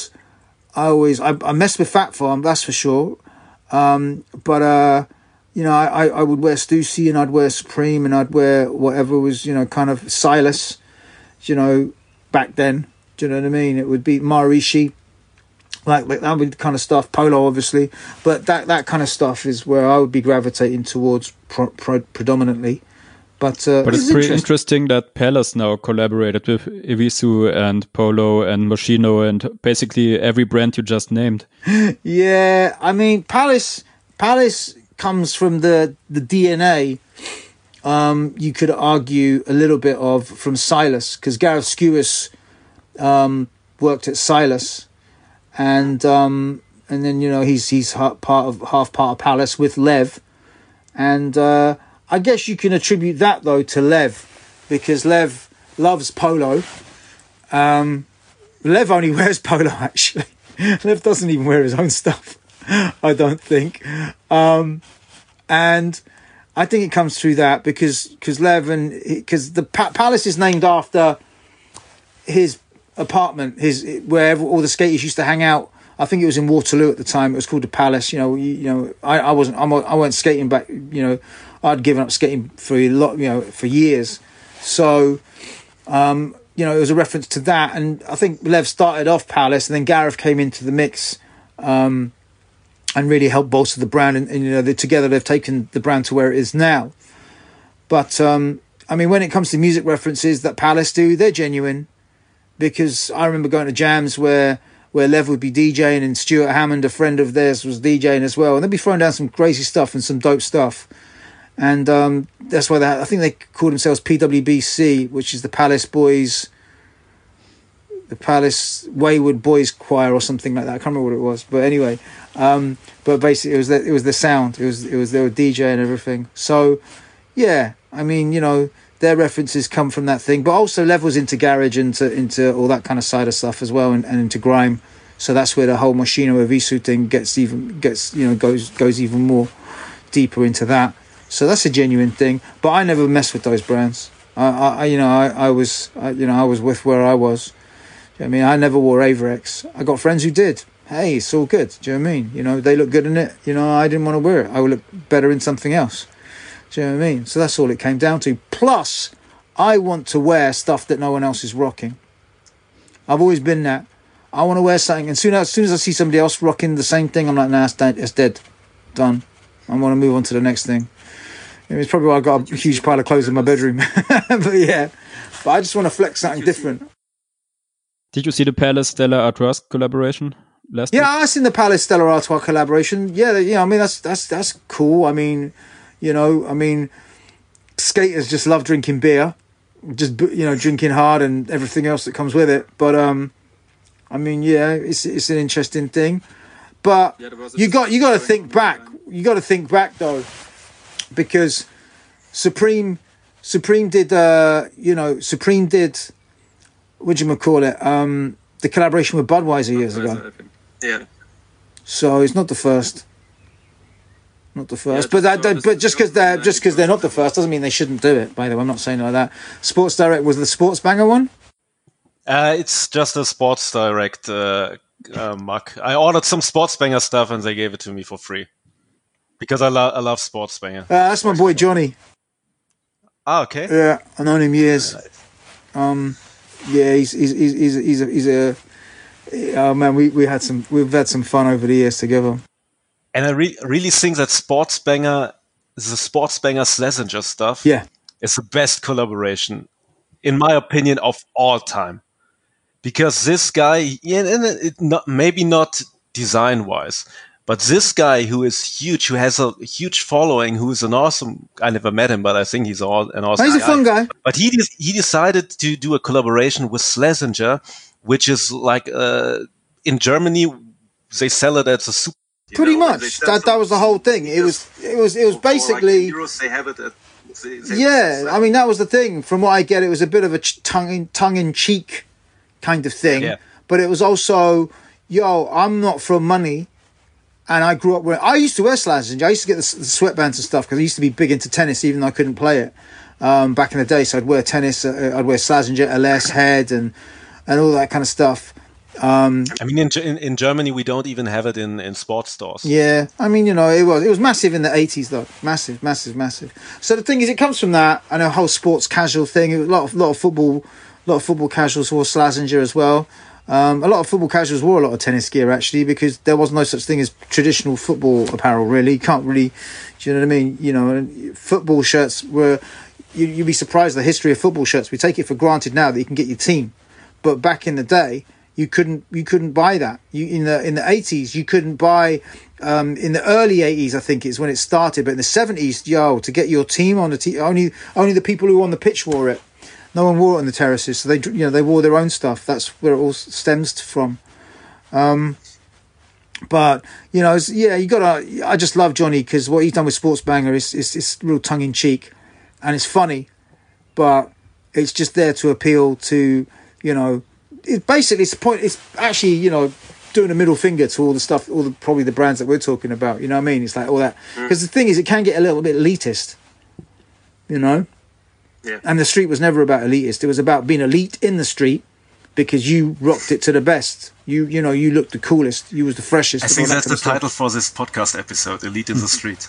I messed with Fat Farm, that's for sure. But I would wear Stussy and I'd wear Supreme and I'd wear whatever was, kind of Silas, back then. Do you know what I mean? It would be Maharishi, like that would be the kind of stuff. Polo, obviously, but that kind of stuff is where I would be gravitating towards predominantly. But it's pretty interesting that Palace now collaborated with Evisu and Polo and Moschino and basically every brand you just named. Yeah, I mean Palace comes from the DNA, you could argue a little bit from Silas, because Gareth Skewis worked at Silas, and then he's half part of Palace with Lev, and I guess you can attribute that though to Lev, because Lev loves Polo. Lev only wears Polo actually. Lev doesn't even wear his own stuff, I don't think. And I think it comes through that because Lev because the Palace is named after his apartment, where all the skaters used to hang out. I think it was in Waterloo at the time. It was called the Palace. I wasn't skating back. I'd given up skating for for years. So, it was a reference to that. And I think Lev started off Palace, and then Gareth came into the mix. And really helped bolster the brand, and together they've taken the brand to where it is now. But I mean, when it comes to music references that Palace do, they're genuine, because I remember going to jams where Lev would be DJing and Stuart Hammond, a friend of theirs, was DJing as well, and they'd be throwing down some crazy stuff and some dope stuff. And that's why I think they call themselves PWBC, which is the Palace Boys. The Palace Wayward Boys Choir or something like that. I can't remember what it was, but anyway, but basically it was the sound. It was they were DJ and everything. So yeah, I mean, their references come from that thing, but also Lev was into garage and into all that kind of side of stuff as well, and into grime. So that's where the whole Moschino Evisu thing goes even more deeper into that. So that's a genuine thing. But I never messed with those brands. I was with where I was. I mean, I never wore Averex. I got friends who did. Hey, it's all good. Do you know what I mean? They look good in it. I didn't want to wear it. I would look better in something else. Do you know what I mean? So that's all it came down to. Plus, I want to wear stuff that no one else is rocking. I've always been that. I want to wear something, and as soon as I see somebody else rocking the same thing, I'm like, nah, it's dead. Done. I want to move on to the next thing. It's probably why I got a huge pile of clothes in my bedroom. But yeah, I just want to flex something different. Did you see the Palace Stella Art Rust collaboration? last Yeah, week? I've seen the Palace Stella Artois collaboration. Yeah, I mean that's cool. I mean, skaters just love drinking beer, just drinking hard and everything else that comes with it. But I mean, yeah, it's an interesting thing. But you got to think back. You got to think back though, because Supreme did what do you call it? The collaboration with Budweiser years ago. Yeah. So it's not the first. Not the first, but just because they're not the first doesn't mean they shouldn't do it. By the way, I'm not saying like that. Sports Direct was the Sports Banger one. It's just a Sports Direct mug. I ordered some Sports Banger stuff and they gave it to me for free because I love Sports Banger. That's my boy Johnny. Ah, okay. Yeah, I've known him years. Yeah, he's a oh man, we've had some fun over the years together. And I really think that Sports Banger, the Sports Banger Schlesinger stuff, is the best collaboration, in my opinion, of all time. Because this guy, maybe not design-wise, but this guy who is huge, who has a huge following, who is an awesome. I never met him, but I think he's an awesome. He's a fun guy. But he decided to do a collaboration with Schlesinger, which is like in Germany they sell it as a super. Pretty much. That was the whole thing. It was basically. Like Euros, they have it at, yeah, I mean that was the thing. From what I get, it was a bit of a tongue in cheek kind of thing. Yeah. But it was also, I'm not from money, and I grew up with. I used to wear Schlesinger. I used to get the sweatbands and stuff because I used to be big into tennis, even though I couldn't play it back in the day. So I'd wear tennis. I'd wear Schlesinger, LS, Head, and all that kind of stuff. I mean, in Germany, we don't even have it in sports stores. Yeah, I mean, it was massive in the 80s though, massive. So the thing is, it comes from that and a whole sports casual thing. It was a lot of football casuals wore Schlesinger as well. A lot of football casuals wore a lot of tennis gear actually because there was no such thing as traditional football apparel. Really, you can't really, do you know what I mean? Football shirts were. You'd be surprised the history of football shirts. We take it for granted now that you can get your team, but back in the day. You couldn't buy that. In the 80s you couldn't buy. In the early 80s I think it's when it started, but in the 70s, to get your team on the team, only the people who were on the pitch wore it. No one wore it on the terraces, so they wore their own stuff. That's where it all stems from. But you gotta. I just love Johnny because what he's done with Sports Banger is real tongue in cheek, and it's funny, but it's just there to appeal to it's actually doing a middle finger to all the stuff, probably the brands that we're talking about. You know what I mean? It's like all that because the thing is, it can get a little bit elitist. Yeah. And the street was never about elitist. It was about being elite in the street because you rocked it to the best. You looked the coolest. You was the freshest. I think that's the title for this podcast episode: Elite in the Street.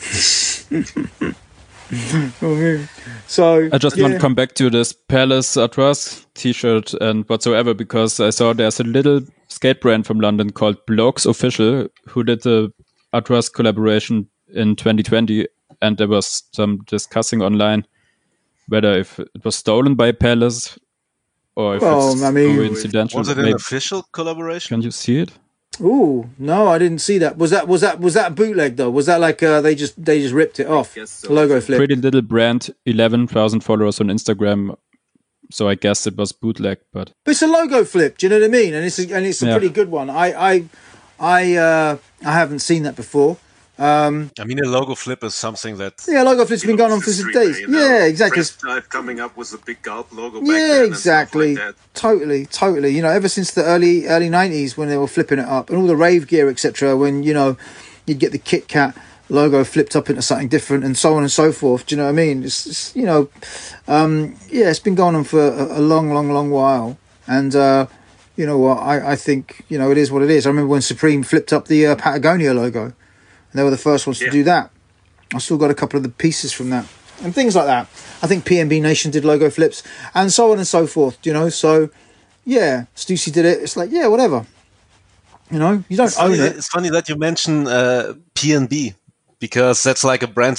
Okay. So I just want to come back to this Palace Artois t-shirt and whatsoever because I saw there's a little skate brand from London called Blokes Official who did the Artois collaboration in 2020, and there was some discussing online whether if it was stolen by Palace or if it's coincidental. Was it an official collaboration? Can you see it? Oh no, I didn't see that. Was that bootleg though? Was that like they just ripped it off? So. Logo flip. Pretty little brand, 11,000 followers on Instagram. So I guess it was bootleg, but it's a logo flip. Do you know what I mean? And it's a pretty good one. I haven't seen that before. I mean, a logo flip is something that logo flip's been going on for days. Yeah, exactly. Type coming up with a big gulp logo. Yeah, exactly. Like totally. Ever since the early 90s when they were flipping it up and all the rave gear, etc. When you'd get the Kit Kat logo flipped up into something different and so on and so forth. Do you know what I mean? It's it's been going on for a long while. And you know what? I think it is what it is. I remember when Supreme flipped up the Patagonia logo. They were the first ones to do that. I still got a couple of the pieces from that and things like that. I think PNB Nation did logo flips and so on and so forth. So yeah, Stussy did it. It's like whatever. You don't own it. It's funny that you mention PNB because that's like a brand that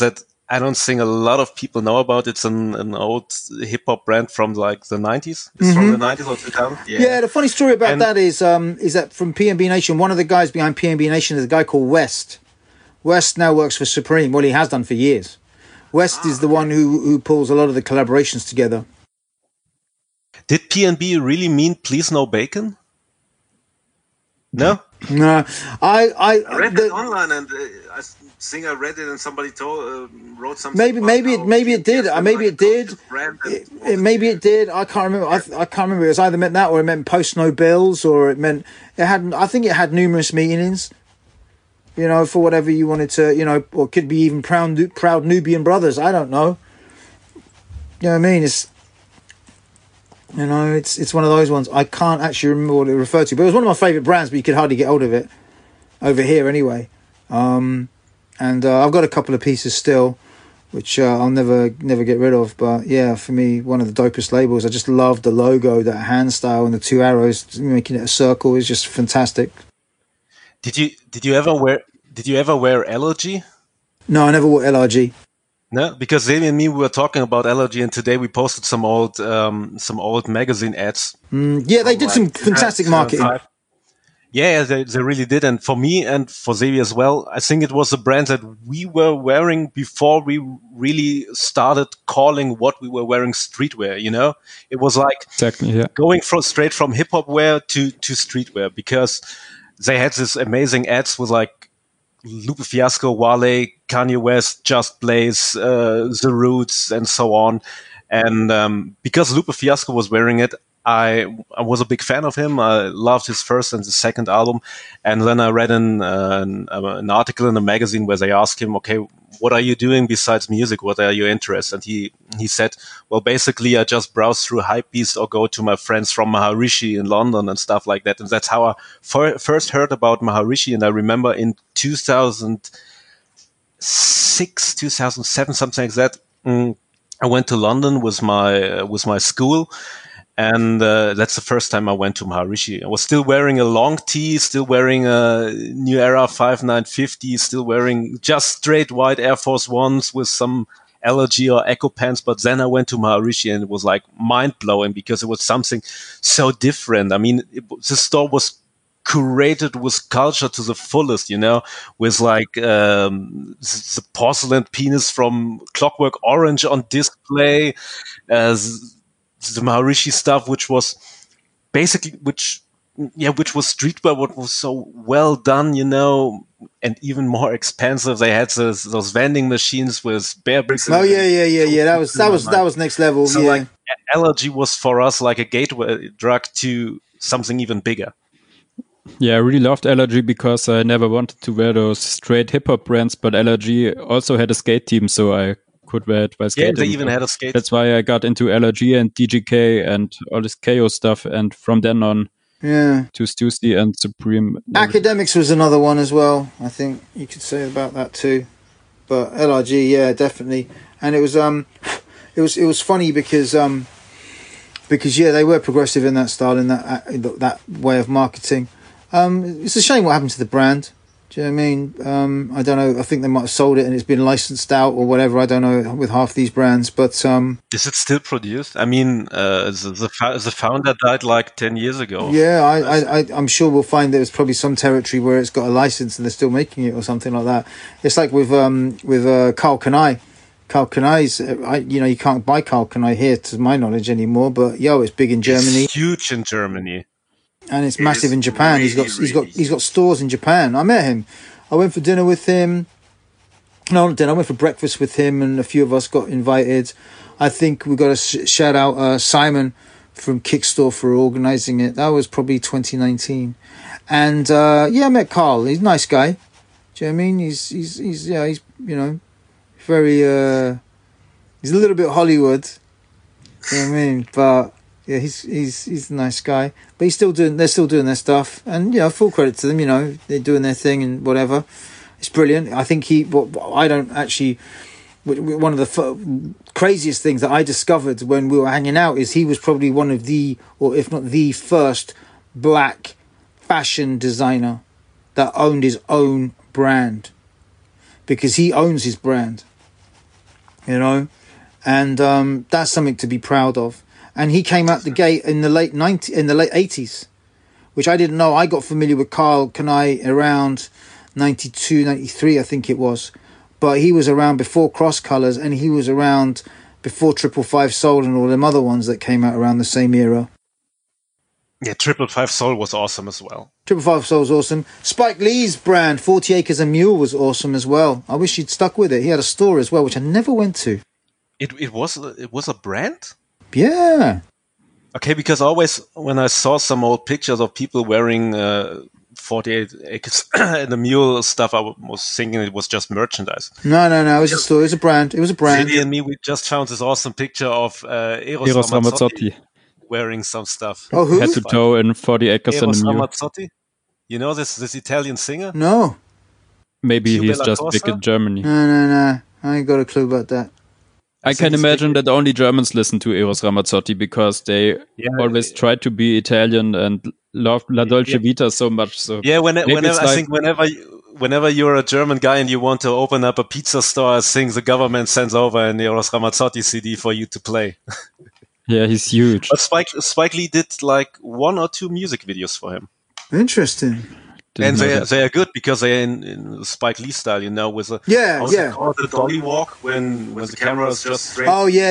I don't think a lot of people know about. It's an old hip hop brand from like the 90s. It's from the 90s or 2000s. Yeah, the funny story about that is that from PNB Nation, one of the guys behind PNB Nation is a guy called West. West now works for Supreme. Well, he has done for years. West is the one who pulls a lot of the collaborations together. Did PNB really mean please no bacon? No? No. I read it online and I think I read it and somebody wrote something. Maybe it did. Maybe it did. Maybe it did. I can't remember. I can't remember. It was either meant that or it meant post no bills or it meant it had. I think it had numerous meanings. You know, for whatever you wanted to. You know, or could be even proud Nubian brothers. I don't know. You know what I mean? It's one of those ones. I can't actually remember what it referred to, but it was one of my favourite brands, but you could hardly get hold of it over here anyway. And I've got a couple of pieces still, which I'll never get rid of. But yeah, for me, one of the dopest labels. I just love the logo, that hand style, and the two arrows making it a circle is just fantastic. Did you ever wear LRG? No, I never wore LRG. No, because Xavier and me we were talking about LRG, and today we posted some old magazine ads. Yeah, they did some fantastic marketing. Yeah, they really did. And for me and for Xavier as well, I think it was a brand that we were wearing before we really started calling what we were wearing streetwear, you know? It was like going straight from hip-hop wear to streetwear, because they had this amazing ads with like Lupe Fiasco, Wale, Kanye West, Just Blaze, The Roots, and so on. And because Lupe Fiasco was wearing it, I was a big fan of him. I loved his first and the second album. And then I read an article in a magazine where they asked him, okay, what are you doing besides music? What are your interests? And he said, well, basically, I just browse through Hypebeast or go to my friends from Maharishi in London and stuff like that. And that's how I first heard about Maharishi. And I remember in 2006, 2007, something like that, I went to London with my school. And that's the first time I went to Maharishi. I was still wearing a long tee, still wearing a New Era 5950, still wearing just straight white Air Force Ones with some LRG or Echo pants. But then I went to Maharishi and it was like mind-blowing because it was something so different. I mean, the store was curated with culture to the fullest, you know, with like the porcelain penis from Clockwork Orange on display, the Maharishi stuff, which was basically, which was streetwear, what was so well done, you know, and even more expensive. They had those vending machines with bear bricks. Oh yeah. That was next level. So like LRG was for us like a gateway drug to something even bigger. Yeah, I really loved LRG because I never wanted to wear those straight hip hop brands, but LRG also had a skate team, so I could wear it while skating. Yeah, they even had a skate. That's why I got into LRG and DGK and all this KO stuff, and from then on, to Stussy and Supreme. Academics was another one as well. I think you could say about that too, but LRG, yeah, definitely. And it was funny because they were progressive in that style, in that way of marketing. It's a shame what happened to the brand. Do you know what I mean? I don't know. I think they might have sold it and it's been licensed out or whatever. I don't know with half these brands, but is it still produced? I mean, the founder died like 10 years ago. Yeah, I'm sure we'll find there's probably some territory where it's got a license and they're still making it or something like that. It's like with Karl Kani. Karl Kani's, you can't buy Karl Kani here to my knowledge anymore. But it's big in Germany. It's huge in Germany. And it's massive in Japan. Really, he's got stores in Japan. I met him. I went for dinner with him. No, not dinner. I went for breakfast with him, and a few of us got invited. I think we got to shout out Simon from Kickstore for organising it. That was probably 2019. And I met Karl. He's a nice guy. Do you know what I mean? He's very. He's a little bit Hollywood. You know what I mean? But. Yeah, he's a nice guy, but they're still doing their stuff, and full credit to them. They're doing their thing and whatever. It's brilliant. I think one of the craziest things that I discovered when we were hanging out is he was probably one of the, or if not the first, black fashion designer that owned his own brand, because he owns his brand. you know, and that's something to be proud of. And he came out the gate in the late 80s, which I didn't know. I got familiar with Karl Kani around 92, 93, I think it was. But he was around before Cross Colours, and he was around before 555 Soul and all them other ones that came out around the same era. Yeah, 555 Soul was awesome as well. 555 Soul was awesome. Spike Lee's brand, 40 Acres a Mule, was awesome as well. I wish he'd stuck with it. He had a store as well, which I never went to. It was a brand? Yeah. Okay, because always when I saw some old pictures of people wearing 48 Acres and the Mule stuff, I was thinking it was just merchandise. No. It was a store. It was a brand. Zeddy and me, we just found this awesome picture of Eros Ramazzotti wearing some stuff. Oh, who? Head to toe in 40 Acres and a Eros Mule. Ramazzotti? You know this Italian singer? No. Maybe Cube he's La just Corsa? big in Germany. No. I ain't got a clue about that. I can imagine that only Germans listen to Eros Ramazzotti because they always try to be Italian and love La Dolce Vita so much. So yeah, maybe it's I think whenever you're a German guy and you want to open up a pizza store, I think the government sends over an Eros Ramazzotti CD for you to play. yeah, he's huge. But Spike Lee did like 1 or 2 music videos for him. Interesting. And Didn't know that. they are good because they're in Spike Lee style, you know, with the called the dolly walk when the camera is just straight. Oh yeah.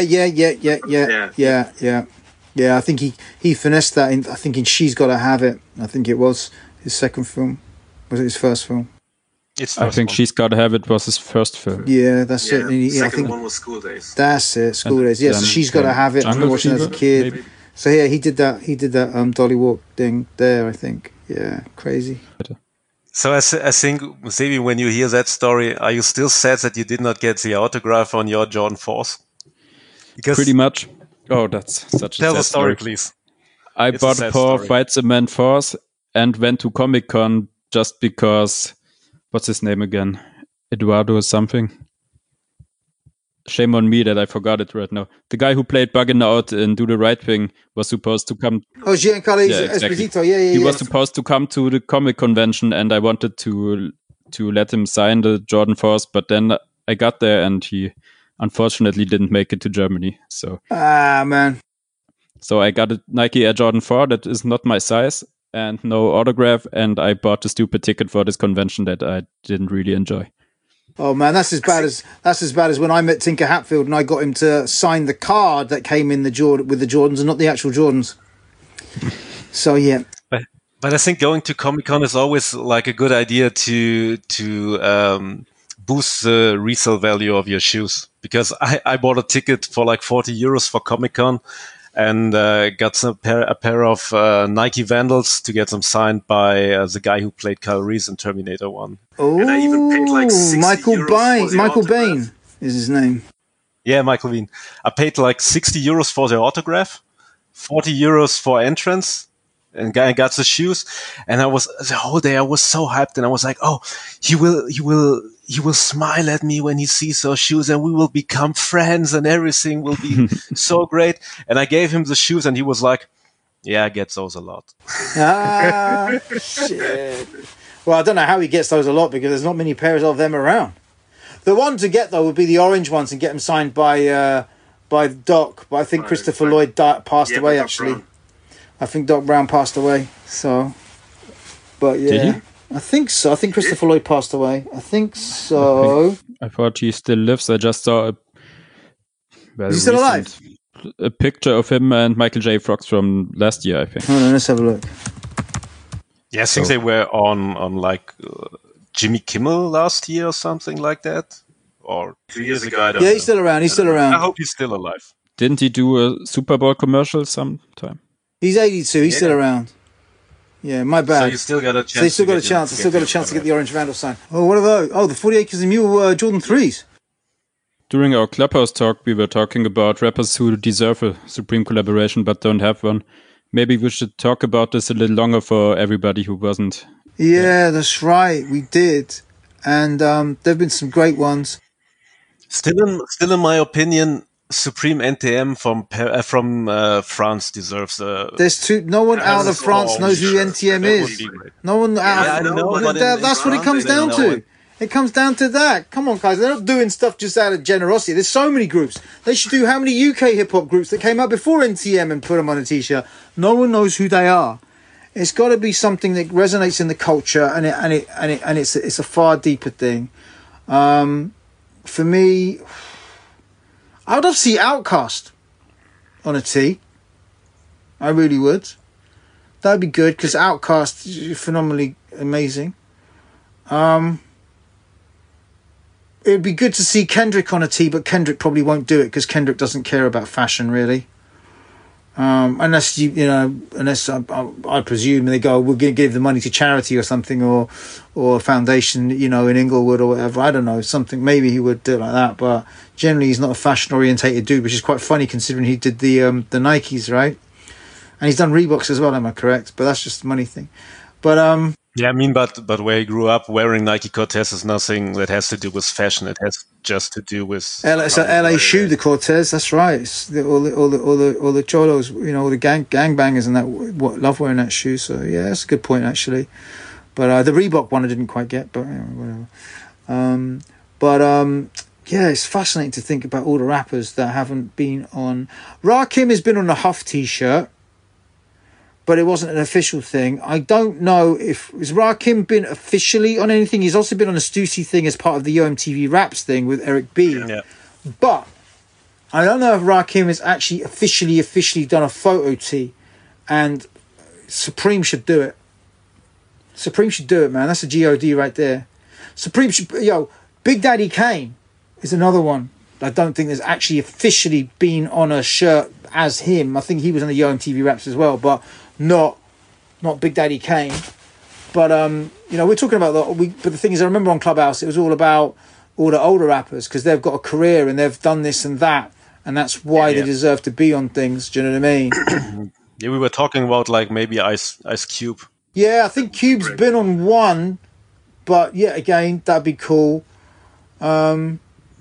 I think he finessed that. I think in She's Gotta Have It. I think it was his second film. Was it his first film? I think She's Gotta Have It was his first film. Yeah, that's it. The I second think one was School Days. that's it. School Days. Yeah, so then She's Gotta Have It. I remember watching it as a kid. Maybe. So yeah, he did that dolly walk thing there. I think. Yeah, crazy. So I think, Sebi, when you hear that story, are you still sad that you did not get the autograph on your Jordan 4s? Because Pretty much. Oh, that's such a tell sad the story, please. I It's a bought sad a pair of story. White Cement 4s and went to Comic Con just because. What's his name again? Eduardo something. Shame on me that I forgot it right now. The guy who played Buggin' Out in Do the Right Thing was supposed to come. Oh, Giancarlo exactly. Esposito. Yeah. He was supposed to come to the comic convention, and I wanted to let him sign the Jordan 4s, but then I got there, and he unfortunately didn't make it to Germany. So man. So I got a Nike Air Jordan 4 that is not my size and no autograph, and I bought a stupid ticket for this convention that I didn't really enjoy. Oh man, that's as bad as when I met Tinker Hatfield and I got him to sign the card that came in with the Jordans and not the actual Jordans. So yeah. But I think going to Comic-Con is always like a good idea to boost the resale value of your shoes. Because I bought a ticket for like 40 euros for Comic-Con and got a pair of Nike Vandals to get them signed by the guy who played Kyle Reese in Terminator 1. Oh, and I even paid like 60 Michael euros Bain. for the Michael autograph. Bain is his name. Yeah, Michael Bean. I paid like 60 euros for the autograph, 40 euros for entrance, and I got the shoes. And the whole day I was so hyped, and I was like, oh, he will smile at me when he sees those shoes, and we will become friends, and everything will be so great. And I gave him the shoes, and he was like, yeah, I get those a lot. Ah, shit. Well, I don't know how he gets those a lot because there's not many pairs of them around. The one to get though would be the orange ones and get them signed by Doc. But I think Christopher Lloyd passed away actually. Brown. I think Doc Brown passed away. So, but yeah, did he? I think so. I think Christopher Lloyd passed away. I think so. I thought he still lives. I just saw Is he still alive? A picture of him and Michael J. Fox from last year, I think. Hold on, let's have a look. Yeah, I think they were on like Jimmy Kimmel last year or something like that. Or 2 years ago. Yeah, he's still around. I hope he's still alive. Didn't he do a Super Bowl commercial sometime? He's 82. He's still around. Yeah, my bad. So you still got a chance. So you still got a chance. I still got a chance to get the Orange Vandal sign. Oh, what are those? Oh, the 40 Acres and Mule Jordan 3s. During our Clubhouse talk, we were talking about rappers who deserve a Supreme collaboration but don't have one. Maybe we should talk about this a little longer for everybody who wasn't. Yeah, that's right. We did. And there've been some great ones. Still in my opinion, Supreme NTM from France deserves a... There's two. No one out of France knows who NTM is. No one out of... I know, that's what it comes down to. It comes down to that. Come on, guys. They're not doing stuff just out of generosity. There's so many groups. They should do how many UK hip-hop groups that came out before NTM and put them on a T-shirt. No one knows who they are. It's got to be something that resonates in the culture, and it's a far deeper thing. For me, I would love to see Outkast on a tee. I really would. That'd be good because Outkast is phenomenally amazing. It'd be good to see Kendrick on a tee, but Kendrick probably won't do it because Kendrick doesn't care about fashion really. Unless I presume they go, we're going to give the money to charity or something, or a foundation, in Inglewood or whatever. I don't know, something. Maybe he would do it like that, but generally he's not a fashion orientated dude, which is quite funny considering he did the Nikes, right? And he's done Reeboks as well. Am I correct? But that's just a money thing. But yeah, I mean, but where he grew up, wearing Nike Cortez is nothing that has to do with fashion. It has just to do with it's an LA shoe, the Cortez. That's right. It's all the cholos, all the gangbangers and that love wearing that shoe. So yeah, that's a good point actually. But the Reebok one I didn't quite get, but whatever. Yeah, it's fascinating to think about all the rappers that haven't been on. Rakim has been on a Huff T-shirt, but it wasn't an official thing. I don't know if... Has Rakim been officially on anything? He's also been on a Stussy thing as part of the OMTV Raps thing with Eric B. Yeah. But I don't know if Rakim has actually officially done a photo tee. And Supreme should do it. Supreme should do it, man. That's a GOD right there. Supreme should... Big Daddy Kane is another one. I don't think there's actually officially been on a shirt as him. I think he was on the OMTV Raps as well, but... Not Big Daddy Kane, but we're talking about but the thing is, I remember on Clubhouse it was all about all the older rappers because they've got a career and they've done this and that, and that's why they deserve to be on things. Do you know what I mean? Yeah, we were talking about like maybe Ice Cube. Yeah, I think Cube's been on one, but yeah, again that'd be cool. I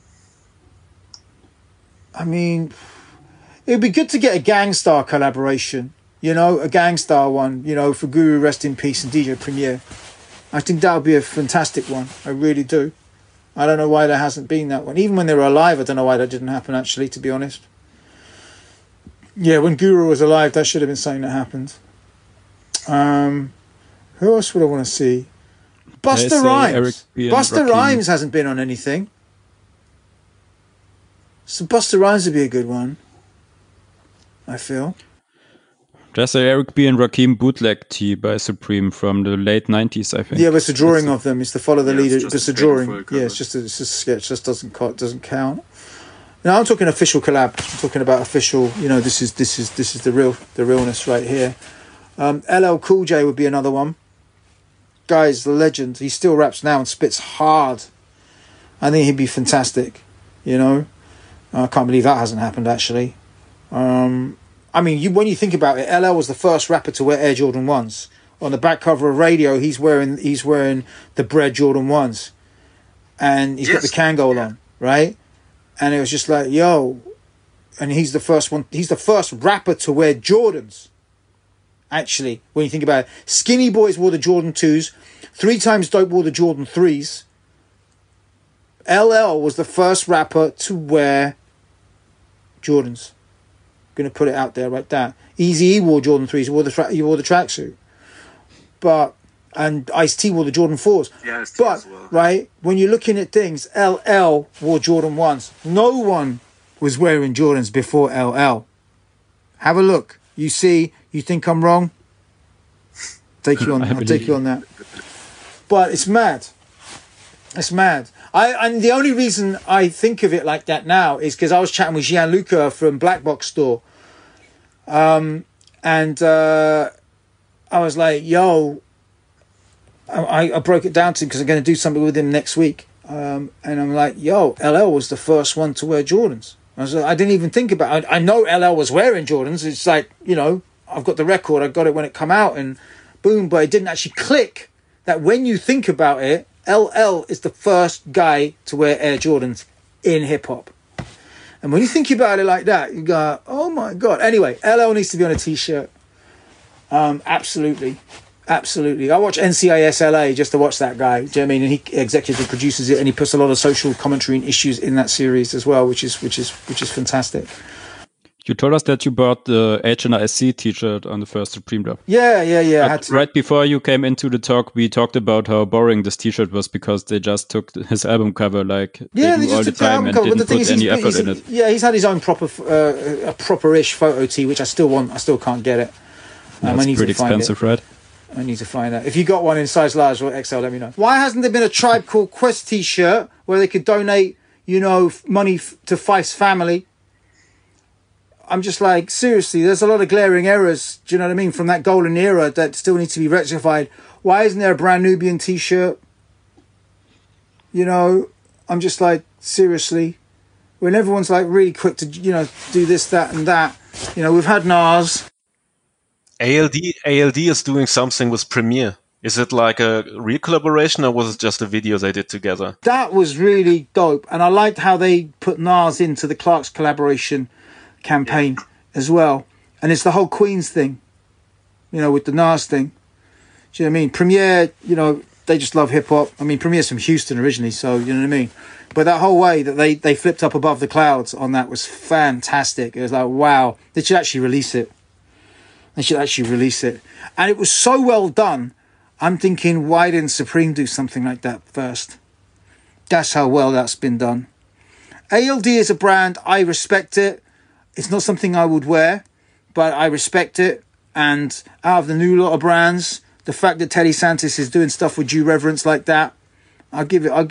mean, it'd be good to get a Gangstar collaboration. A Gangstar one, for Guru Rest in Peace and DJ Premier. I think that would be a fantastic one. I really do. I don't know why there hasn't been that one. Even when they were alive, I don't know why that didn't happen, actually, to be honest. Yeah, when Guru was alive, that should have been something that happened. Who else would I want to see? Busta Rhymes. Busta Rhymes hasn't been on anything. So Busta Rhymes would be a good one, I feel. There's a Eric B. and Rakim bootleg tee by Supreme from the late 90s, I think. Yeah, but it's a drawing of them. It's the follow the leader. It's a drawing. Yeah, it's just a sketch. Just doesn't count. Now I'm talking official collab. I'm talking about official. This is the realness right here. LL Cool J would be another one. Guy's the legend. He still raps now and spits hard. I think he'd be fantastic. I can't believe that hasn't happened actually. I mean, when you think about it, LL was the first rapper to wear Air Jordan 1s. On the back cover of Radio, he's wearing the Bread Jordan 1s. And he's got the Kangol on, right? And it was just like, yo. And he's the first one. He's the first rapper to wear Jordans. Actually, when you think about it. Skinny Boys wore the Jordan 2s. 3 Times Dope wore the Jordan 3s. LL was the first rapper to wear Jordans. Going to put it out there like that. Eazy-E wore Jordan 3s. He wore the tracksuit. And Ice-T wore the Jordan 4s. Yeah, but, well. Right, when you're looking at things, LL wore Jordan 1s. No one was wearing Jordans before LL. Have a look. You see, you think I'm wrong? I'll take you on that. But it's mad. It's mad. And the only reason I think of it like that now is because I was chatting with Gianluca from Black Box Store. And I was like, yo, I broke it down to him because I'm going to do something with him next week. And I'm like, yo, LL was the first one to wear Jordans. I didn't even think about it. I know LL was wearing Jordans. It's like, I've got the record. I got it when it come out and boom. But it didn't actually click that when you think about it, LL is the first guy to wear Air Jordans in hip-hop. And when you think about it like that, you go, oh my God. Anyway, LL needs to be on a T-shirt. Absolutely. Absolutely. I watch NCIS LA just to watch that guy. Do you know what I mean? And he executive produces it, and he puts a lot of social commentary and issues in that series as well, which is fantastic. You told us that you bought the HNIC t-shirt on the first Supreme Drop. Yeah. I had to. Right before you came into the talk, we talked about how boring this t-shirt was because they just took his album cover like they do all the time and didn't put any effort in it. Yeah, he's had his own proper-ish photo tee, which I still want. I still can't get it. It's pretty expensive, right? I need to find out. If you got one in size large or XL, let me know. Why hasn't there been a Tribe Called Quest t-shirt where they could donate, money to Fife's family? I'm just like, seriously, there's a lot of glaring errors, do you know what I mean, from that golden era that still need to be rectified. Why isn't there a Brand Nubian t-shirt? I'm just like, seriously. When everyone's like really quick to, do this, that and that. We've had Nas. ALD is doing something with Premiere. Is it like a real collaboration or was it just a video they did together? That was really dope. And I liked how they put Nas into the Clark's collaboration campaign as well. And it's the whole Queens thing, with the Nas thing. Do you know what I mean? Premiere, they just love hip hop. I mean, Premiere's from Houston originally, so you know what I mean? But that whole way that they flipped up above the clouds on that was fantastic. It was like, wow, they should actually release it. And it was so well done. I'm thinking, why didn't Supreme do something like that first? That's how well that's been done. ALD is a brand. I respect it. It's not something I would wear, but I respect it. And out of the new lot of brands, the fact that Teddy Santis is doing stuff with due reverence like that, I'm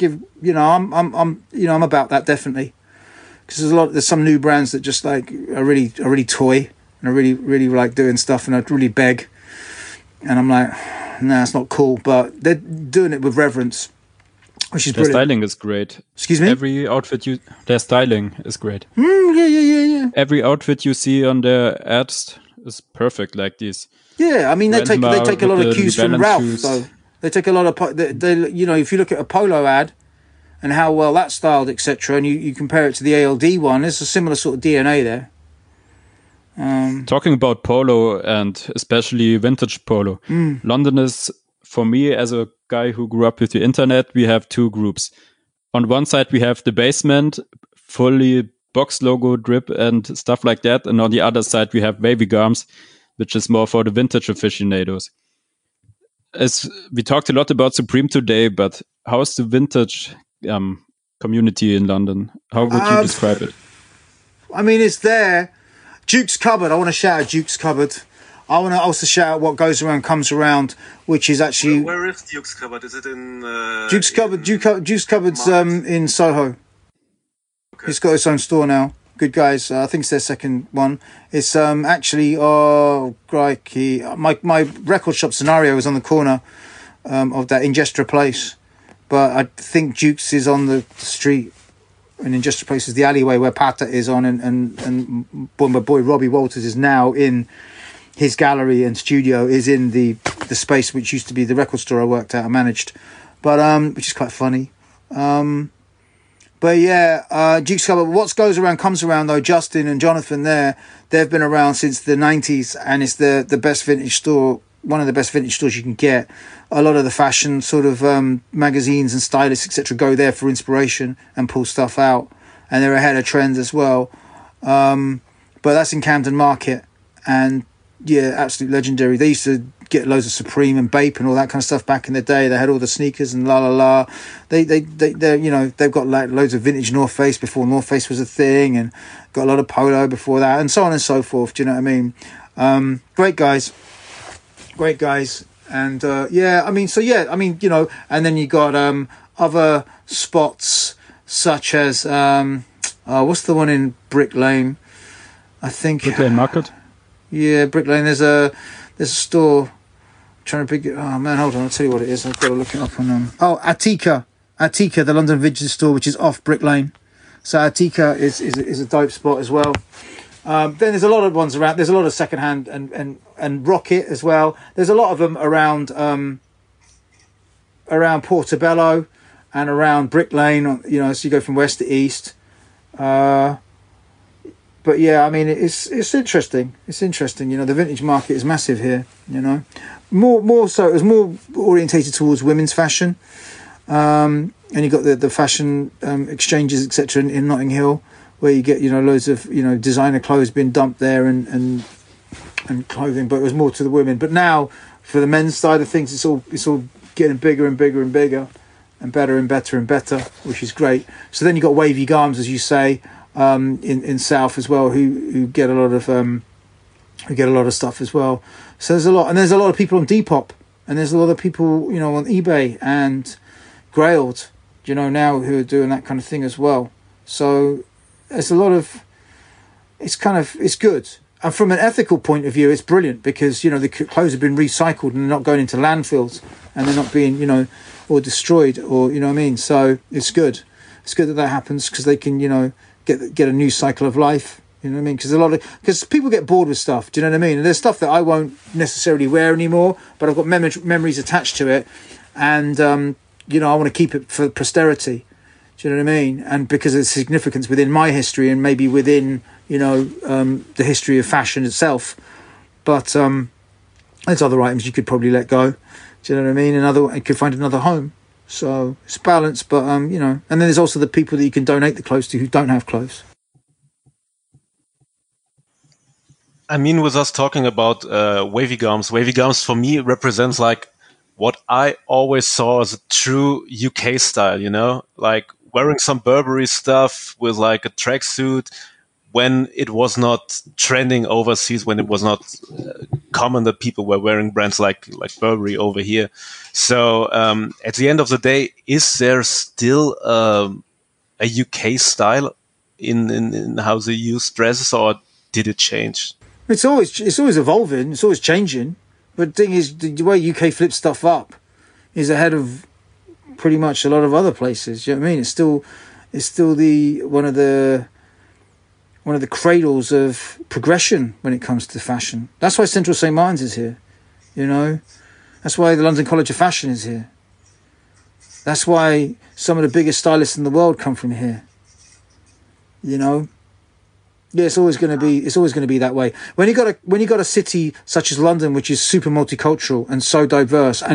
about that definitely. Because there's some new brands that just like are really toy. And I really, really like doing stuff, and I really beg. And I'm like, nah, it's not cool. But they're doing it with reverence, which is brilliant. Their styling is great. Excuse me? Every outfit their styling is great. Yeah. Every outfit you see on their ads is perfect, like these. Yeah, I mean, they take a lot of cues from Ralph. Shoes. So they take a lot of, if you look at a polo ad and how well that's styled, etc., and you compare it to the ALD one, there's a similar sort of DNA there. Talking about polo and especially vintage polo, London is, for me as a guy who grew up with the internet, we have two groups. On one side we have the basement, fully box logo drip and stuff like that, and on the other side we have Wavy Garms, which is more for the vintage aficionados. As we talked a lot about Supreme today, but how's the vintage community in London? How would you describe it? I mean, it's there. Duke's Cupboard. I want to shout out Duke's Cupboard. I want to also shout out What Goes Around Comes Around, which is actually... Where is Duke's Cupboard? Is it in... Duke's Cupboard's in Soho. Okay. It's got its own store now. Good guys. I think it's their second one. It's actually... Oh, crikey. My record shop Scenario is on the corner of that Ingestra place. But I think Duke's is on the street. And in just places, the alleyway where Pata is on, and my boy Robbie Walters is now in his gallery and studio is in the space which used to be the record store I worked at and managed, but which is quite funny. But yeah, Duke's Cupboard. What goes around comes around though. Justin and Jonathan they've been around since the 90s, and it's the best vintage store. One of the best vintage stores you can get. A lot of the fashion sort of magazines and stylists, etc., go there for inspiration and pull stuff out. And they're ahead of trends as well. But that's in Camden Market. And yeah, absolutely legendary. They used to get loads of Supreme and Bape and all that kind of stuff back in the day. They had all the sneakers and la. They've got like loads of vintage North Face before North Face was a thing, and got a lot of polo before that, and so on and so forth. Do you know what I mean? Great guys. And and then you got other spots such as what's the one in Brick Lane? I think Brick Lane Market. Yeah, Brick Lane. There's a store. I'm trying to pick it. Oh man, hold on. I'll tell you what it is. I've got to look it up on Attica, the London Vintage store, which is off Brick Lane. So Attica is a dope spot as well. Then there's a lot of ones around. There's a lot of secondhand and Rocket as well. There's a lot of them around Portobello and around Brick Lane. So you go from west to east. but yeah, I mean, it's interesting. It's interesting. You know, the vintage market is massive here. You know, more so. It was more orientated towards women's fashion, and you got the fashion exchanges, etc. in Notting Hill, where you get, you know, loads of, you know, designer clothes being dumped there and clothing. But it was more to the women. But now, for the men's side of things, it's all getting bigger and bigger and bigger, and better and better and better, which is great. So then you got Wavy Garms, as you say. In South as well, who get a lot of stuff as well. So there's a lot of people on Depop, and there's a lot of people, you know, on eBay and Grailed, you know, now, who are doing that kind of thing as well. So there's a lot of, it's good. And from an ethical point of view, it's brilliant, because, you know, the clothes have been recycled and they're not going into landfills, and they're not being, you know, or destroyed, or, you know what I mean. So it's good. It's good that happens, because they can, you know, get a new cycle of life, you know what I mean? Because people get bored with stuff, do you know what I mean? And there's stuff that I won't necessarily wear anymore, but I've got memories attached to it, and you know, I want to keep it for posterity, do you know what I mean? And because of its significance within my history, and maybe within, you know, the history of fashion itself. But there's other items you could probably let go, do you know what I mean? And you could find another home. So it's balanced, but you know, and then there's also the people that you can donate the clothes to who don't have clothes. I mean, with us talking about Wavy Garms for me represents like what I always saw as a true UK style, you know, like wearing some Burberry stuff with like a tracksuit when it was not trending overseas, when it was not common that people were wearing brands like Burberry over here. So at the end of the day, is there still a UK style in how they use dresses, or did it change? It's always evolving. It's always changing. But the thing is, the way UK flips stuff up is ahead of pretty much a lot of other places. You know what I mean? It's still one of the cradles of progression when it comes to fashion. That's why Central St. Martin's is here. You know, that's why the London College of Fashion is here. That's why some of the biggest stylists in the world come from here. You know, yeah, it's always going to be that way. When you got a city such as London, which is super multicultural and so diverse, and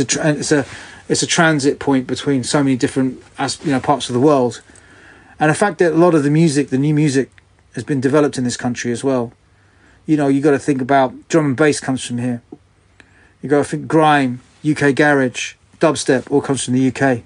it's a transit point between so many different, you know, parts of the world, and the fact that a lot of the new music has been developed in this country as well. You know, you got to think about drum and bass comes from here. You got to think grime, UK garage, dubstep, all comes from the UK.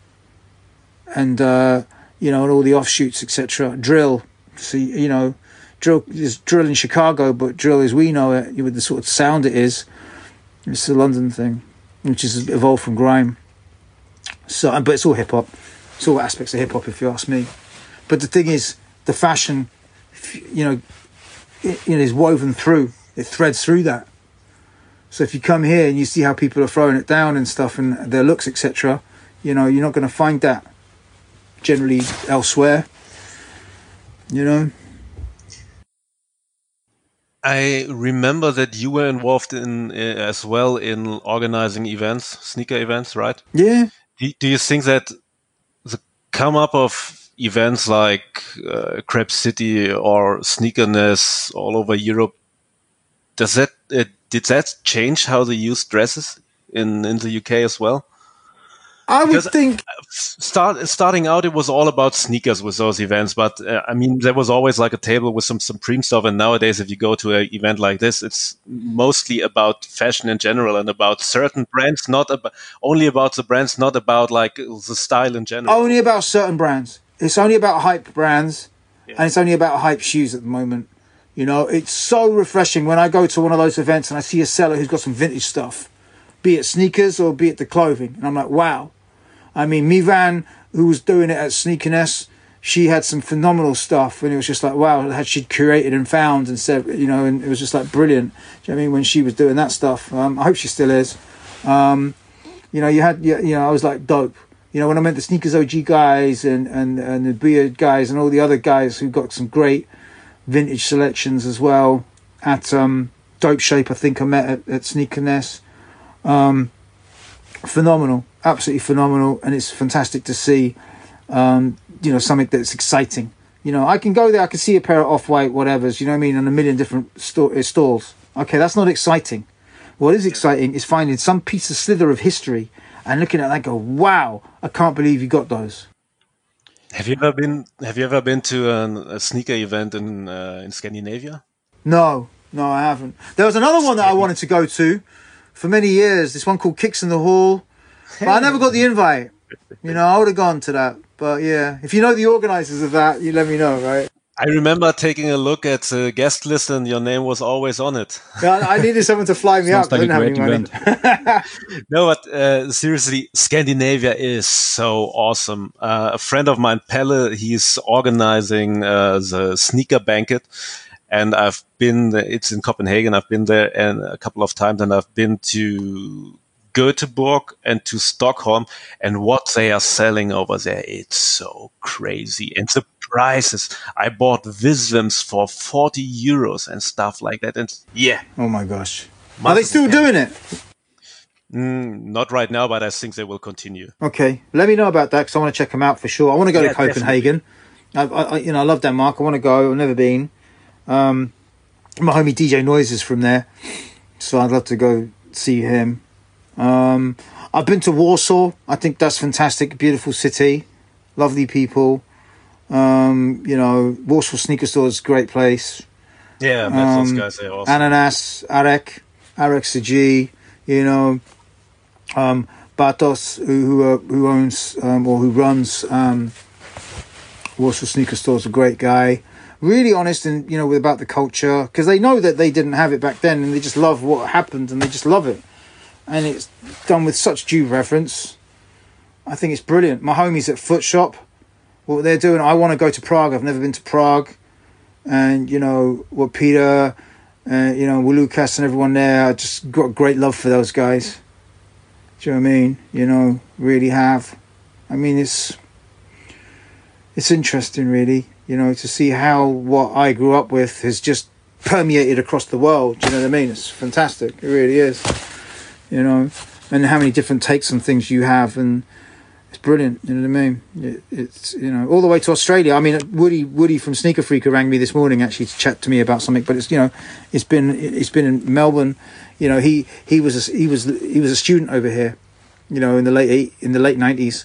And you know, and all the offshoots, etc. Drill. So, you know, drill is drill in Chicago, but drill as we know it, with the sort of sound it is, it's a London thing, which is evolved from grime. So, but it's all hip hop. It's all aspects of hip hop, if you ask me. But the thing is, the fashion, you know, it is woven through. It threads through that. So if you come here and you see how people are throwing it down and stuff, and their looks, etc., you know, you're not going to find that generally elsewhere. You know. I remember that you were involved in as well in organizing events, sneaker events, right? Yeah. Do you think that the come up of events like Crep City or Sneakerness all over Europe, did that change how they use dresses in the UK as well? I would think starting out, it was all about sneakers with those events. But I mean, there was always like a table with some Supreme stuff. And nowadays, if you go to an event like this, it's mostly about fashion in general and about certain brands, only about the brands, not about like the style in general. Only about certain brands. It's only about hype brands, and it's only about hype shoes at the moment. You know, it's so refreshing when I go to one of those events and I see a seller who's got some vintage stuff, be it sneakers or be it the clothing. And I'm like, wow. I mean, Mivan, who was doing it at Sneakerness, she had some phenomenal stuff, and it was just like, wow, had she curated and found and said, you know, and it was just like brilliant. Do you know what I mean? When she was doing that stuff, I hope she still is. You know, I was like, dope. You know, when I met the Sneakers OG guys and the Beard guys and all the other guys who got some great vintage selections as well at Dope Shape, I think I met at Sneakerness. Phenomenal, absolutely phenomenal, and it's fantastic to see, you know, something that's exciting, You know, I can go there, I can see a pair of Off-White whatevers, you know what I mean, on a million different stalls. Okay, that's not exciting. What is exciting is finding some piece of slither of history and looking at it and go, wow, I can't believe you got those. Have you ever been to a sneaker event in Scandinavia? No, I haven't. There was another one that I wanted to go to for many years. This one called Kicks in the Hall, but I never got the invite. You know, I would have gone to that. But yeah, if you know the organisers of that, you let me know, right? I remember taking a look at the guest list and your name was always on it. Yeah, I needed someone to fly me up. Like I didn't have any money. No, but seriously, Scandinavia is so awesome. A friend of mine, Pelle, he's organizing the sneaker banquet. And it's in Copenhagen. I've been there a couple of times, and I've been to Göteborg and to Stockholm, and what they are selling over there, it's so crazy. And the prices, I bought Visvims for 40 euros and stuff like that. And yeah. Oh my gosh. Are they still doing it? Not right now, but I think they will continue. Okay. Let me know about that, because I want to check them out for sure. I want to go to Copenhagen. I love Denmark. I want to go. I've never been. My homie DJ Noise is from there, so I'd love to go see him. I've been to Warsaw. I think that's fantastic. Beautiful city, lovely people. Warsaw Sneaker Store is a great place. Yeah, I met those guys there also. Ananas, Arek Sagi, Bartos, who owns or who runs Warsaw Sneaker Store, is a great guy. Really honest and, about the culture, because they know that they didn't have it back then and they just love what happened and they just love it. And it's done with such due reverence. I think it's brilliant. My homies at Foot Shop, what they're doing, I want to go to Prague. I've never been to Prague. And, what Peter, Lucas and everyone there, I just got great love for those guys. Do you know what I mean? Really have. I mean, it's interesting, really. To see how what I grew up with has just permeated across the world. Do you know what I mean? It's fantastic. It really is. And how many different takes on things you have, and it's brilliant. You know what I mean? It's all the way to Australia. I mean, Woody from Sneaker Freaker rang me this morning actually to chat to me about something. But it's been in Melbourne. He was a student over here. In the late 90s,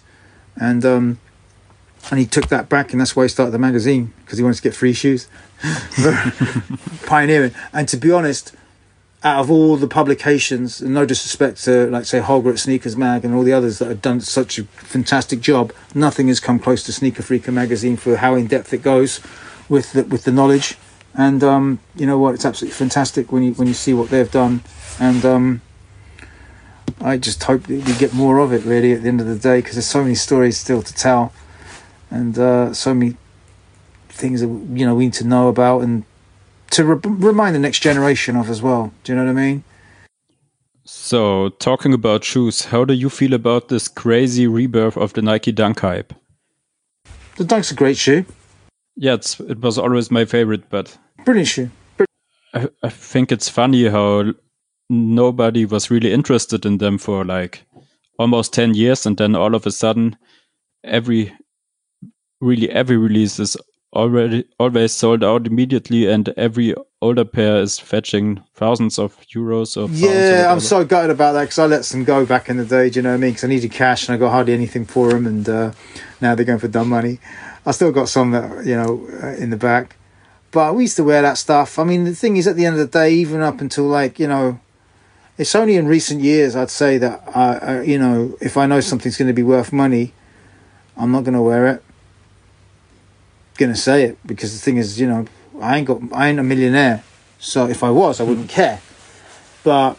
and he took that back, and that's why he started the magazine, because he wanted to get free shoes. Pioneering. And to be honest, out of all the publications, and no disrespect to, like, say, Holger at Sneakers Mag and all the others that have done such a fantastic job, nothing has come close to Sneaker Freaker magazine for how in-depth it goes with the knowledge. And you know what? It's absolutely fantastic when you see what they've done. And I just hope that we get more of it, really, at the end of the day, because there's so many stories still to tell. And so many things that we need to know about and to remind the next generation of as well. Do you know what I mean? So, talking about shoes, how do you feel about this crazy rebirth of the Nike Dunk hype? The Dunk's a great shoe. Yeah, it was always my favorite, but brilliant shoe. I think it's funny how nobody was really interested in them for like almost 10 years, and then all of a sudden, every release is always sold out immediately, and every older pair is fetching thousands of euros. I'm so gutted about that, because I let some go back in the day. Do you know what I mean? Because I needed cash and I got hardly anything for them, and now they're going for dumb money. I still got some that in the back, but we used to wear that stuff. I mean, the thing is, at the end of the day, even up until it's only in recent years I'd say that if I know something's going to be worth money, I'm not going to wear it. Going to say it, because the thing is, I ain't a millionaire, so if I was, I wouldn't care. But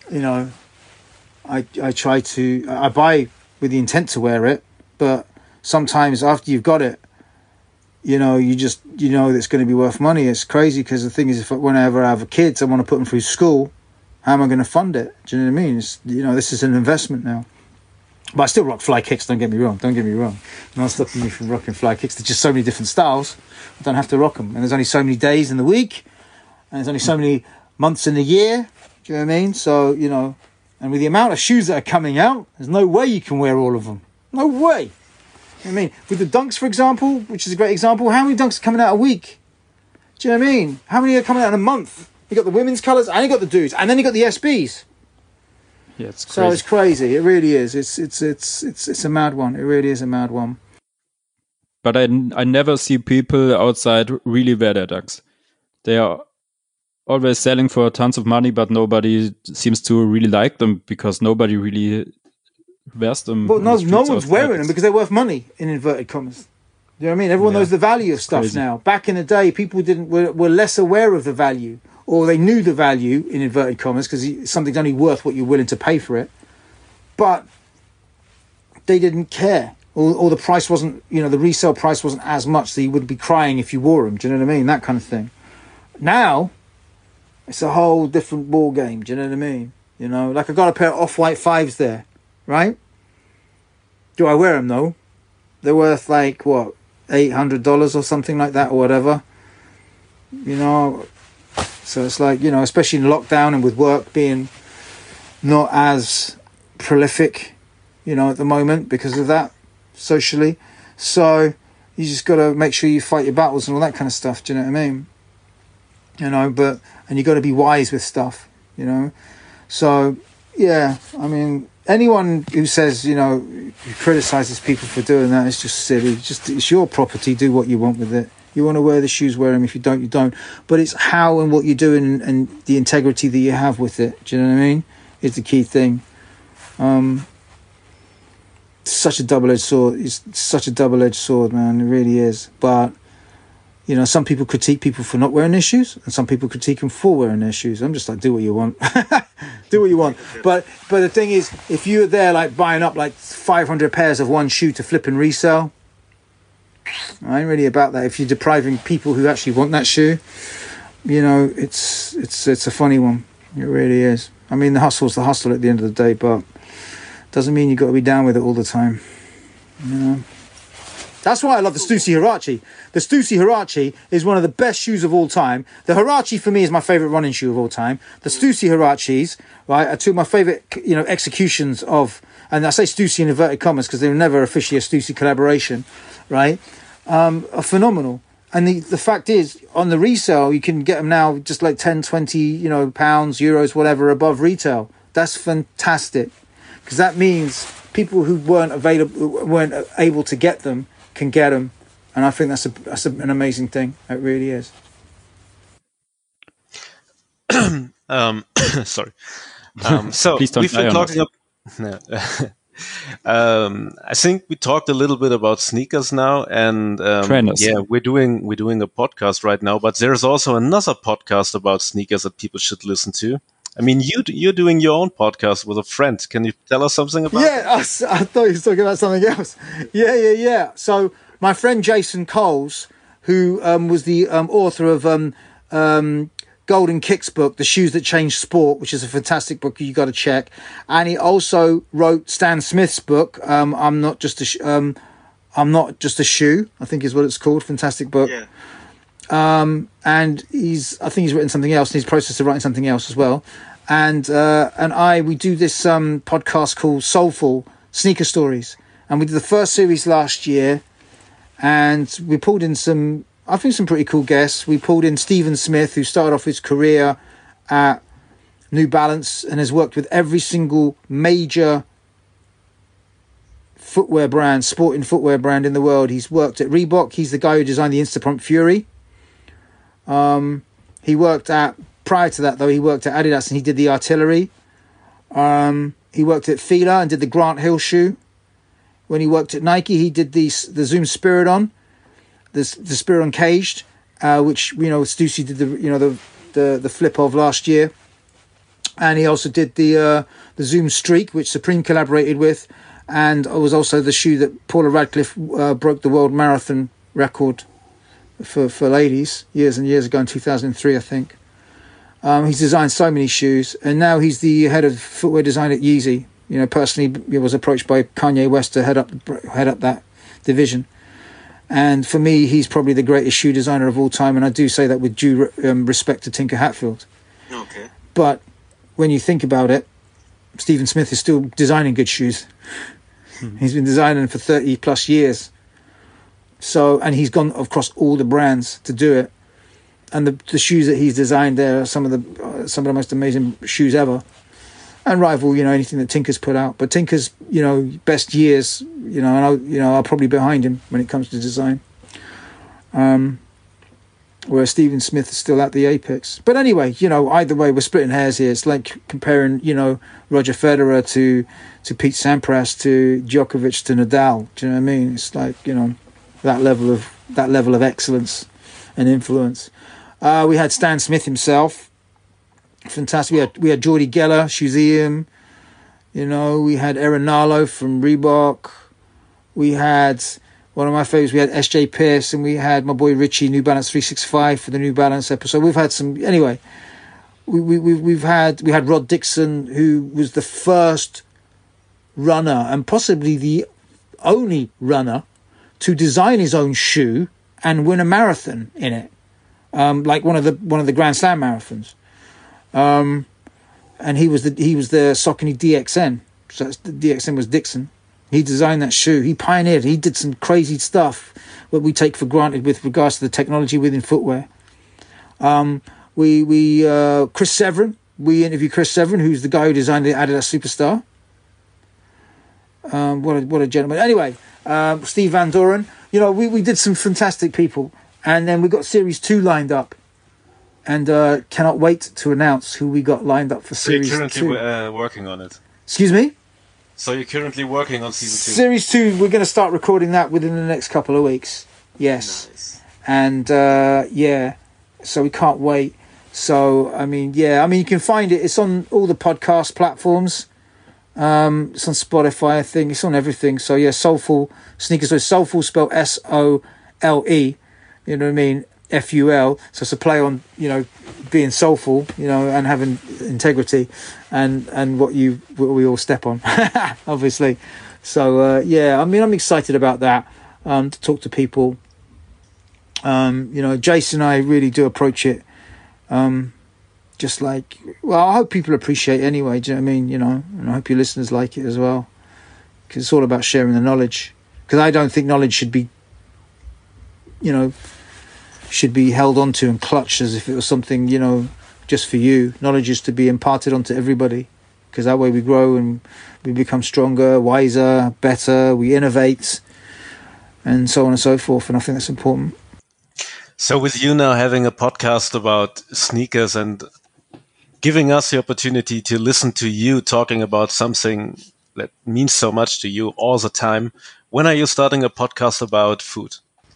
I buy with the intent to wear it, but sometimes after you've got it, you just that it's going to be worth money. It's crazy, because the thing is, whenever I have kids, I want to put them through school. How am I going to fund it? Do you know what I mean? It's, this is an investment now. But I still rock fly kicks, don't get me wrong. Not stopping me from rocking fly kicks. There's just so many different styles. I don't have to rock them. And there's only so many days in the week. And there's only so many months in the year. Do you know what I mean? So, and with the amount of shoes that are coming out, there's no way you can wear all of them. No way. I mean, with the Dunks, for example, which is a great example, how many Dunks are coming out a week? Do you know what I mean? How many are coming out in a month? You got the women's colours, and you got the dudes, and then you got the SBs. Yeah, it's crazy. So it's crazy. It really is. It's a mad one. It really is a mad one. But I never see people outside really wear their Dunks. They are always selling for tons of money, but nobody seems to really like them because nobody really wears them. But no one's wearing them because they're worth money, in inverted commas. You know what I mean? Everyone knows the value of stuff now. Back in the day, people were less aware of the value, or they knew the value, in inverted commas, because something's only worth what you're willing to pay for it. But they didn't care. Or the price wasn't, the resale price wasn't as much, so you would be crying if you wore them. Do you know what I mean? That kind of thing. Now, it's a whole different ball game. Do you know what I mean? Like I got a pair of Off-White 5s there, right? Do I wear them though? They're worth like, what, $800 or something like that or whatever. So it's like, especially in lockdown and with work being not as prolific, at the moment because of that. Socially, so you just got to make sure you fight your battles and all that kind of stuff. Do you know what I mean? And you got to be wise with stuff. So yeah, I mean, anyone who says who criticizes people for doing that is just silly. It's your property. Do what you want with it. You want to wear the shoes, wear them. If you don't, you don't. But it's how and what you're doing and the integrity that you have with it. Do you know what I mean? Is the key thing. Such a double-edged sword. It's such a double-edged sword, man. It really is. But some people critique people for not wearing their shoes, and some people critique them for wearing their shoes. I'm just like, do what you want. Do what you want. But the thing is, if you're there like buying up like 500 pairs of one shoe to flip and resell, I ain't really about that. If you're depriving people who actually want that shoe, it's a funny one. It really is. I mean, the hustle's the hustle at the end of the day, but doesn't mean you've got to be down with it all the time. That's why I love the Stussy Huarache. The Stussy Huarache is one of the best shoes of all time. The Huarache for me is my favourite running shoe of all time. The Stussy Huaraches, right, are two of my favourite, executions of, and I say Stussy in inverted commas because they were never officially a Stussy collaboration, right, are phenomenal. And the fact is, on the resale, you can get them now just like 10, 20, pounds, euros, whatever, above retail. That's fantastic. Because that means people who weren't able to get them can get them, and I think that's an amazing thing. It really is. Sorry. So we've been talking. I think we talked a little bit about sneakers now, and we're doing a podcast right now. But there's also another podcast about sneakers that people should listen to. I mean, you're doing your own podcast with a friend. Can you tell us something about it? Yeah, I thought you were talking about something else. Yeah. So my friend Jason Coles, who was the author of Golden Kicks book, The Shoes That Changed Sport, which is a fantastic book you got to check. And he also wrote Stan Smith's book, I'm Not Just a Shoe, I think is what it's called. Fantastic book. Yeah. And I think he's written something else, and he's in the process of writing something else as well. And we do this podcast called Soulful Sneaker Stories, and we did the first series last year, and we pulled in some pretty cool guests. We pulled in Stephen Smith, who started off his career at New Balance and has worked with every single major sporting footwear brand in the world. He's worked at Reebok. He's the guy who designed the Instapump Fury. Prior to that though, he worked at Adidas and he did the Artillery. He worked at Fila and did the Grant Hill shoe. When he worked at Nike, he did the Zoom Spiridon, the Spiridon Caged, which Stussy did the flip of last year, and he also did the Zoom Streak, which Supreme collaborated with, and it was also the shoe that Paula Radcliffe broke the world marathon record for ladies years and years ago in 2003, I think. He's designed so many shoes, and now he's the head of footwear design at Yeezy. Personally, he was approached by Kanye West to head up that division. And for me, he's probably the greatest shoe designer of all time, and I do say that with due respect to Tinker Hatfield. Okay. But when you think about it, Stephen Smith is still designing good shoes. He's been designing for 30 plus years. So, and he's gone across all the brands to do it. And the shoes that he's designed there are some of the most amazing shoes ever, and rival, anything that Tinker's put out. But Tinker's, best years, are probably behind him when it comes to design. Where Stephen Smith is still at the apex. But anyway, either way, we're splitting hairs here. It's like comparing, Roger Federer to Pete Sampras to Djokovic to Nadal. Do you know what I mean? It's like, that level of excellence and influence. We had Stan Smith himself, fantastic. We had Jordi Geller, Shoeseum. We had Aaron Nalo from Reebok. We had one of my favorites. We had SJ Pierce, and we had my boy Richie, New Balance 365 for the New Balance episode. We've had some anyway. We had Rod Dixon, who was the first runner and possibly the only runner to design his own shoe and win a marathon in it. Like one of the Grand Slam marathons, and he was the Saucony DXN. So the DXN was Dixon. He designed that shoe. He pioneered. He did some crazy stuff that we take for granted with regards to the technology within footwear. Chris Severin. We interviewed Chris Severin, who's the guy who designed the Adidas Superstar. What a gentleman. Anyway, Steve Van Doren. We did some fantastic people. And then we got Series 2 lined up. And cannot wait to announce who we got lined up for Series 2. So you're currently working on it? Excuse me? So you're currently working on Season 2? Series 2, we're going to start recording that within the next couple of weeks. Yes. Nice. And, so we can't wait. So, you can find it. It's on all the podcast platforms. It's on Spotify, I think. It's on everything. So, yeah, Soulful Sneakers. So Soulful spelled SOLE. You know what I mean? FUL. So it's a play on, being soulful, and having integrity, and what we all step on, obviously. So I'm excited about that. To talk to people. Jason and I really do approach it. Just like, I hope people appreciate it anyway. Do you know what I mean? And I hope your listeners like it as well, because it's all about sharing the knowledge. Because I don't think knowledge should be held onto and clutched as if it was something, just for you. Knowledge is to be imparted onto everybody, because that way we grow and we become stronger, wiser, better, we innovate, and so on and so forth. And I think that's important. So with you now having a podcast about sneakers and giving us the opportunity to listen to you talking about something that means so much to you all the time, when are you starting a podcast about food?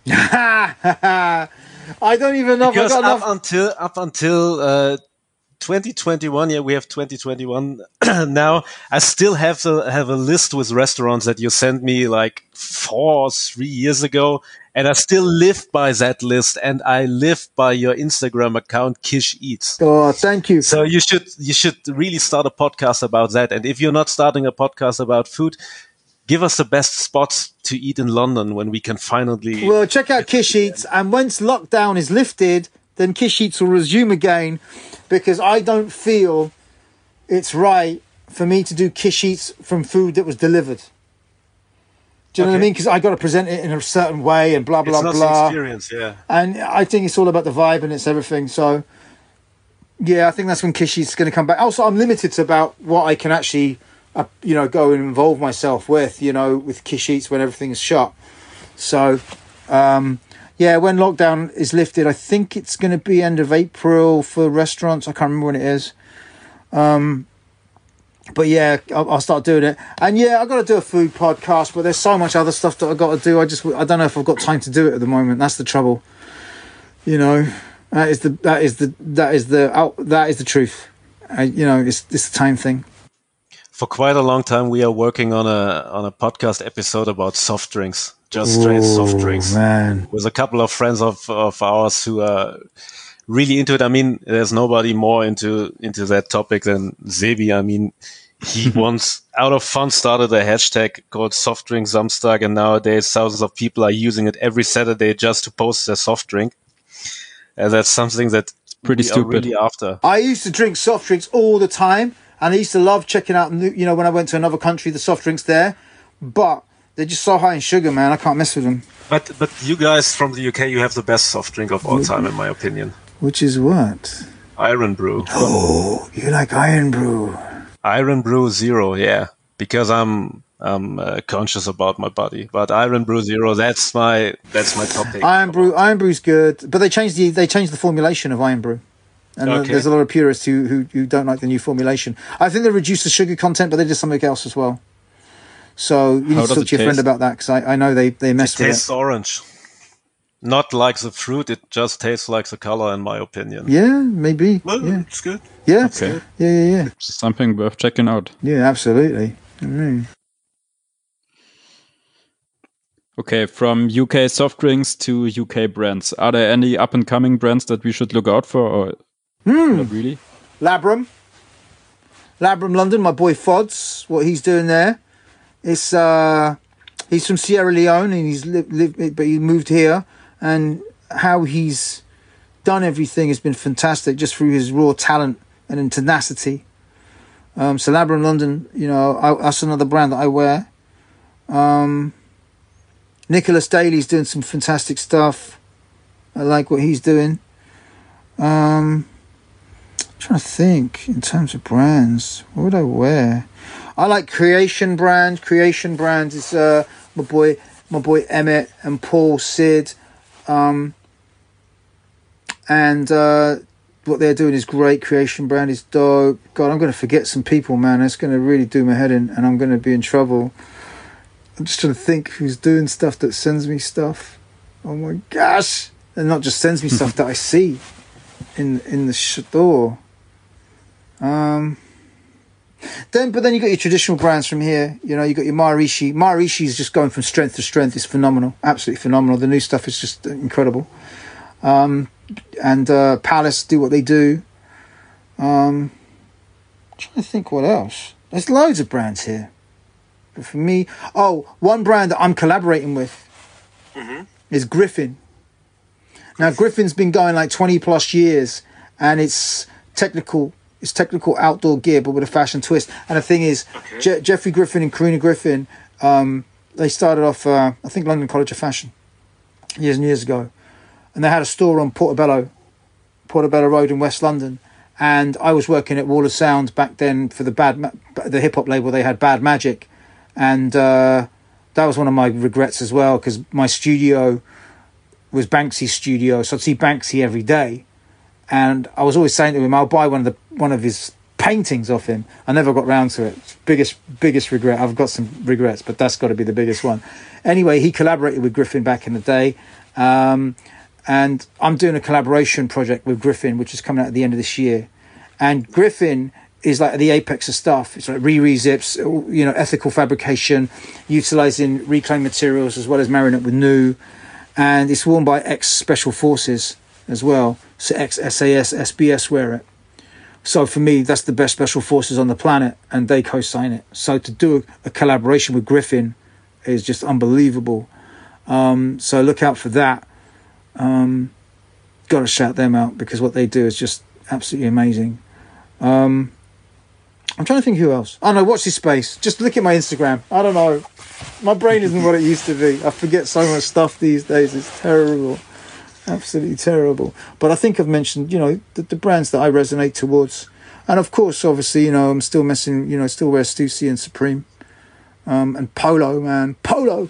I don't even know because if I got up until 2021, we have 2021 now. I still have a list with restaurants that you sent me like 4 or 3 years ago, and I still live by that list, and I live by your Instagram account, Kish Eats. Oh, thank you. So you should really start a podcast about that. And if you're not starting a podcast about food, give us the best spots to eat in London when we can finally... Well, check out Kish Eats, and once lockdown is lifted, then Kish Eats will resume again, because I don't feel it's right for me to do Kish Eats from food that was delivered. Do you know what I mean? Because I got to present it in a certain way and blah, blah, blah. It's not the experience, yeah. And I think it's all about the vibe and it's everything. So, yeah, I think that's when Kish Eats is going to come back. Also, I'm limited to about what I can actually... go and involve myself with Kish Eats when everything's shut. So, when lockdown is lifted, I think it's going to be end of April for restaurants. I can't remember when it is. But yeah, I'll start doing it. And yeah, I've got to do a food podcast, but there's so much other stuff that I've got to do. I don't know if I've got time to do it at the moment. That's the trouble. That is the truth. It's the time thing. For quite a long time, we are working on a podcast episode about soft drinks, just straight soft drinks. Man. With a couple of friends of ours who are really into it. I mean, there's nobody more into that topic than Sebi. I mean, he once, out of fun, started a hashtag called Soft Drink Samstag, and nowadays thousands of people are using it every Saturday just to post their soft drink. And that's something that pretty stupid. Really after. I used to drink soft drinks all the time. And I used to love checking out, when I went to another country, the soft drinks there. but they're just so high in sugar, man. I can't mess with them. But you guys from the UK, you have the best soft drink of all time, in my opinion. Which is what? Iron Brew. Oh, you like Iron Brew? Iron Brew Zero, yeah. Because I'm conscious about my body, but Iron Brew Zero, that's my top pick. Iron Brew's good, but they changed the formulation of Iron Brew, and there's a lot of purists who don't like the new formulation. I think they reduced the sugar content, but they did something else as well. So you need to talk to your friend about that, because I know they mess with it. It tastes orange, not like the fruit. It just tastes like the color, in my opinion. Yeah, maybe. Well, yeah. It's good. Yeah, okay. Yeah. Something worth checking out. Yeah, absolutely. Okay, from UK soft drinks to UK brands. Are there any up-and-coming brands that we should look out for, or not really? Labrum London, my boy Fods, what he's doing there. It's he's from Sierra Leone, and he's lived, but he moved here, and how he's done everything has been fantastic, just through his raw talent and tenacity. So Labrum London, that's another brand that I wear. Nicholas Daly's doing some fantastic stuff. I like what he's doing. I'm trying to think in terms of brands. What would I wear? I like Creation Brand. Creation Brand is my boy Emmett and Paul Sid. And what they're doing is great. Creation Brand is dope. God, I'm going to forget some people, man. That's going to really do my head in, and I'm going to be in trouble. I'm just trying to think who's doing stuff that sends me stuff. Oh my gosh! And not just sends me stuff that I see in the store. Then you got your traditional brands from here. You got your Maharishi. Maharishi is just going from strength to strength. It's phenomenal, absolutely phenomenal. The new stuff is just incredible. And Palace do what they do. I'm trying to think what else. There's loads of brands here. But for me, one brand that I'm collaborating with is Griffin. Now, Griffin's been going like 20 plus years, and it's technical outdoor gear, but with a fashion twist. And the thing is, Jeffrey Griffin and Karina Griffin, they started off, I think, London College of Fashion years and years ago. And they had a store on Portobello Road in West London. And I was working at Wall of Sound back then for the hip-hop label. They had Bad Magic. And that was one of my regrets as well, because my studio was Banksy's studio. So I'd see Banksy every day. And I was always saying to him, I'll buy one of his paintings off him. I never got round to it. Biggest regret. I've got some regrets, but that's got to be the biggest one. Anyway, he collaborated with Griffin back in the day. And I'm doing a collaboration project with Griffin, which is coming out at the end of this year. And Griffin is like the apex of stuff. It's like re-zips, ethical fabrication, utilizing reclaimed materials as well as marrying it with new. And it's worn by ex-Special Forces as well. So ex-SAS, SBS wear it. So for me, that's the best Special Forces on the planet, and they co-sign it. So to do a collaboration with Griffin is just unbelievable. So look out for that. Got to shout them out, because what they do is just absolutely amazing. I'm trying to think who else. Oh no, watch this space. Just look at my Instagram. I don't know. My brain isn't what it used to be. I forget so much stuff these days. It's terrible. Absolutely terrible. But I think I've mentioned, the brands that I resonate towards. And of course, obviously, I'm still still wear Stussy and Supreme. And Polo, man. Polo.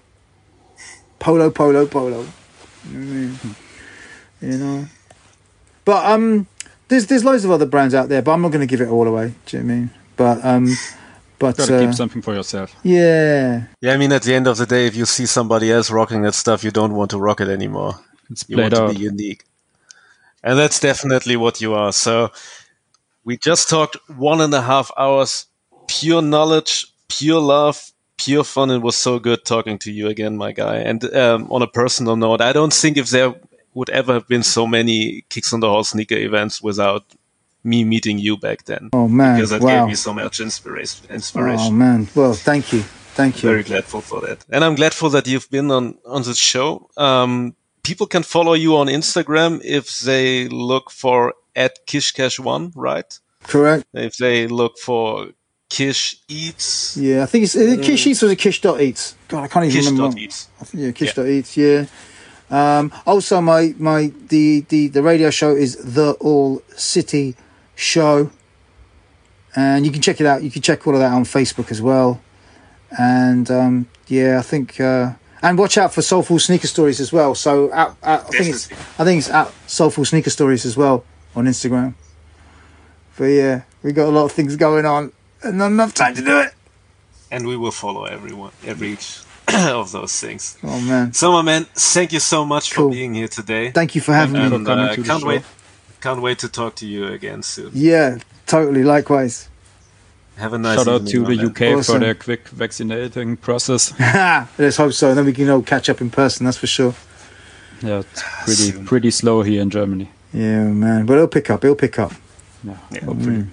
But there's loads of other brands out there, but I'm not going to give it all away. Do you know what I mean? But gotta keep something for yourself. Yeah. Yeah, I mean, at the end of the day, if you see somebody else rocking that stuff, you don't want to rock it anymore. You want to be unique. And that's definitely what you are. So we just talked 1.5 hours, pure knowledge, pure love, pure fun. It was so good talking to you again, my guy. And on a personal note, I don't think if there would ever have been so many Kicks on the Hall sneaker events without me meeting you back then. Oh man, because that gave me so much inspiration. Oh man, well, thank you. Very grateful for that, and I'm grateful that you've been on this show. People can follow you on Instagram if they look for @KishCash1, right? Correct. If they look for Kish Eats. Yeah, I think it's Kish Eats or a Kish.eats. God, I can't even remember. Kish.eats. Kish.eats, yeah. Also, the radio show is The All City Show. And you can check it out. You can check all of that on Facebook as well. And I think and watch out for Soulful Sneaker Stories as well. So I think it's at Soulful Sneaker Stories as well on Instagram. But yeah, we got a lot of things going on and not enough time to do it. And we will follow every of those things. Oh man, so my man, thank you so much for being here today. Thank you for having me. For coming to the show. Can't wait to talk to you again soon. Yeah, totally. Likewise. Have a nice shout out evening, to the UK awesome. for their quick vaccinating process. Let's hope so. And then we can all catch up in person. That's for sure. Yeah, it's pretty slow here in Germany. Yeah, man. But it'll pick up. Yeah, hopefully.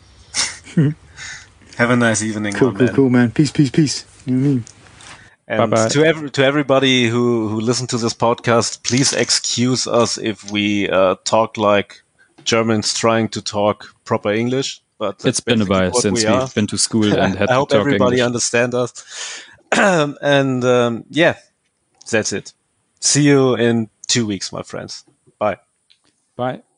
Have a nice evening. Cool, man. Peace. You know what I mean? And Bye-bye. to everybody who listened to this podcast, please excuse us if we talk like Germans trying to talk proper English. But it's been a while since we've been to school and had to talk English. I hope everybody understands us. And that's it. See you in 2 weeks, my friends. Bye. Bye.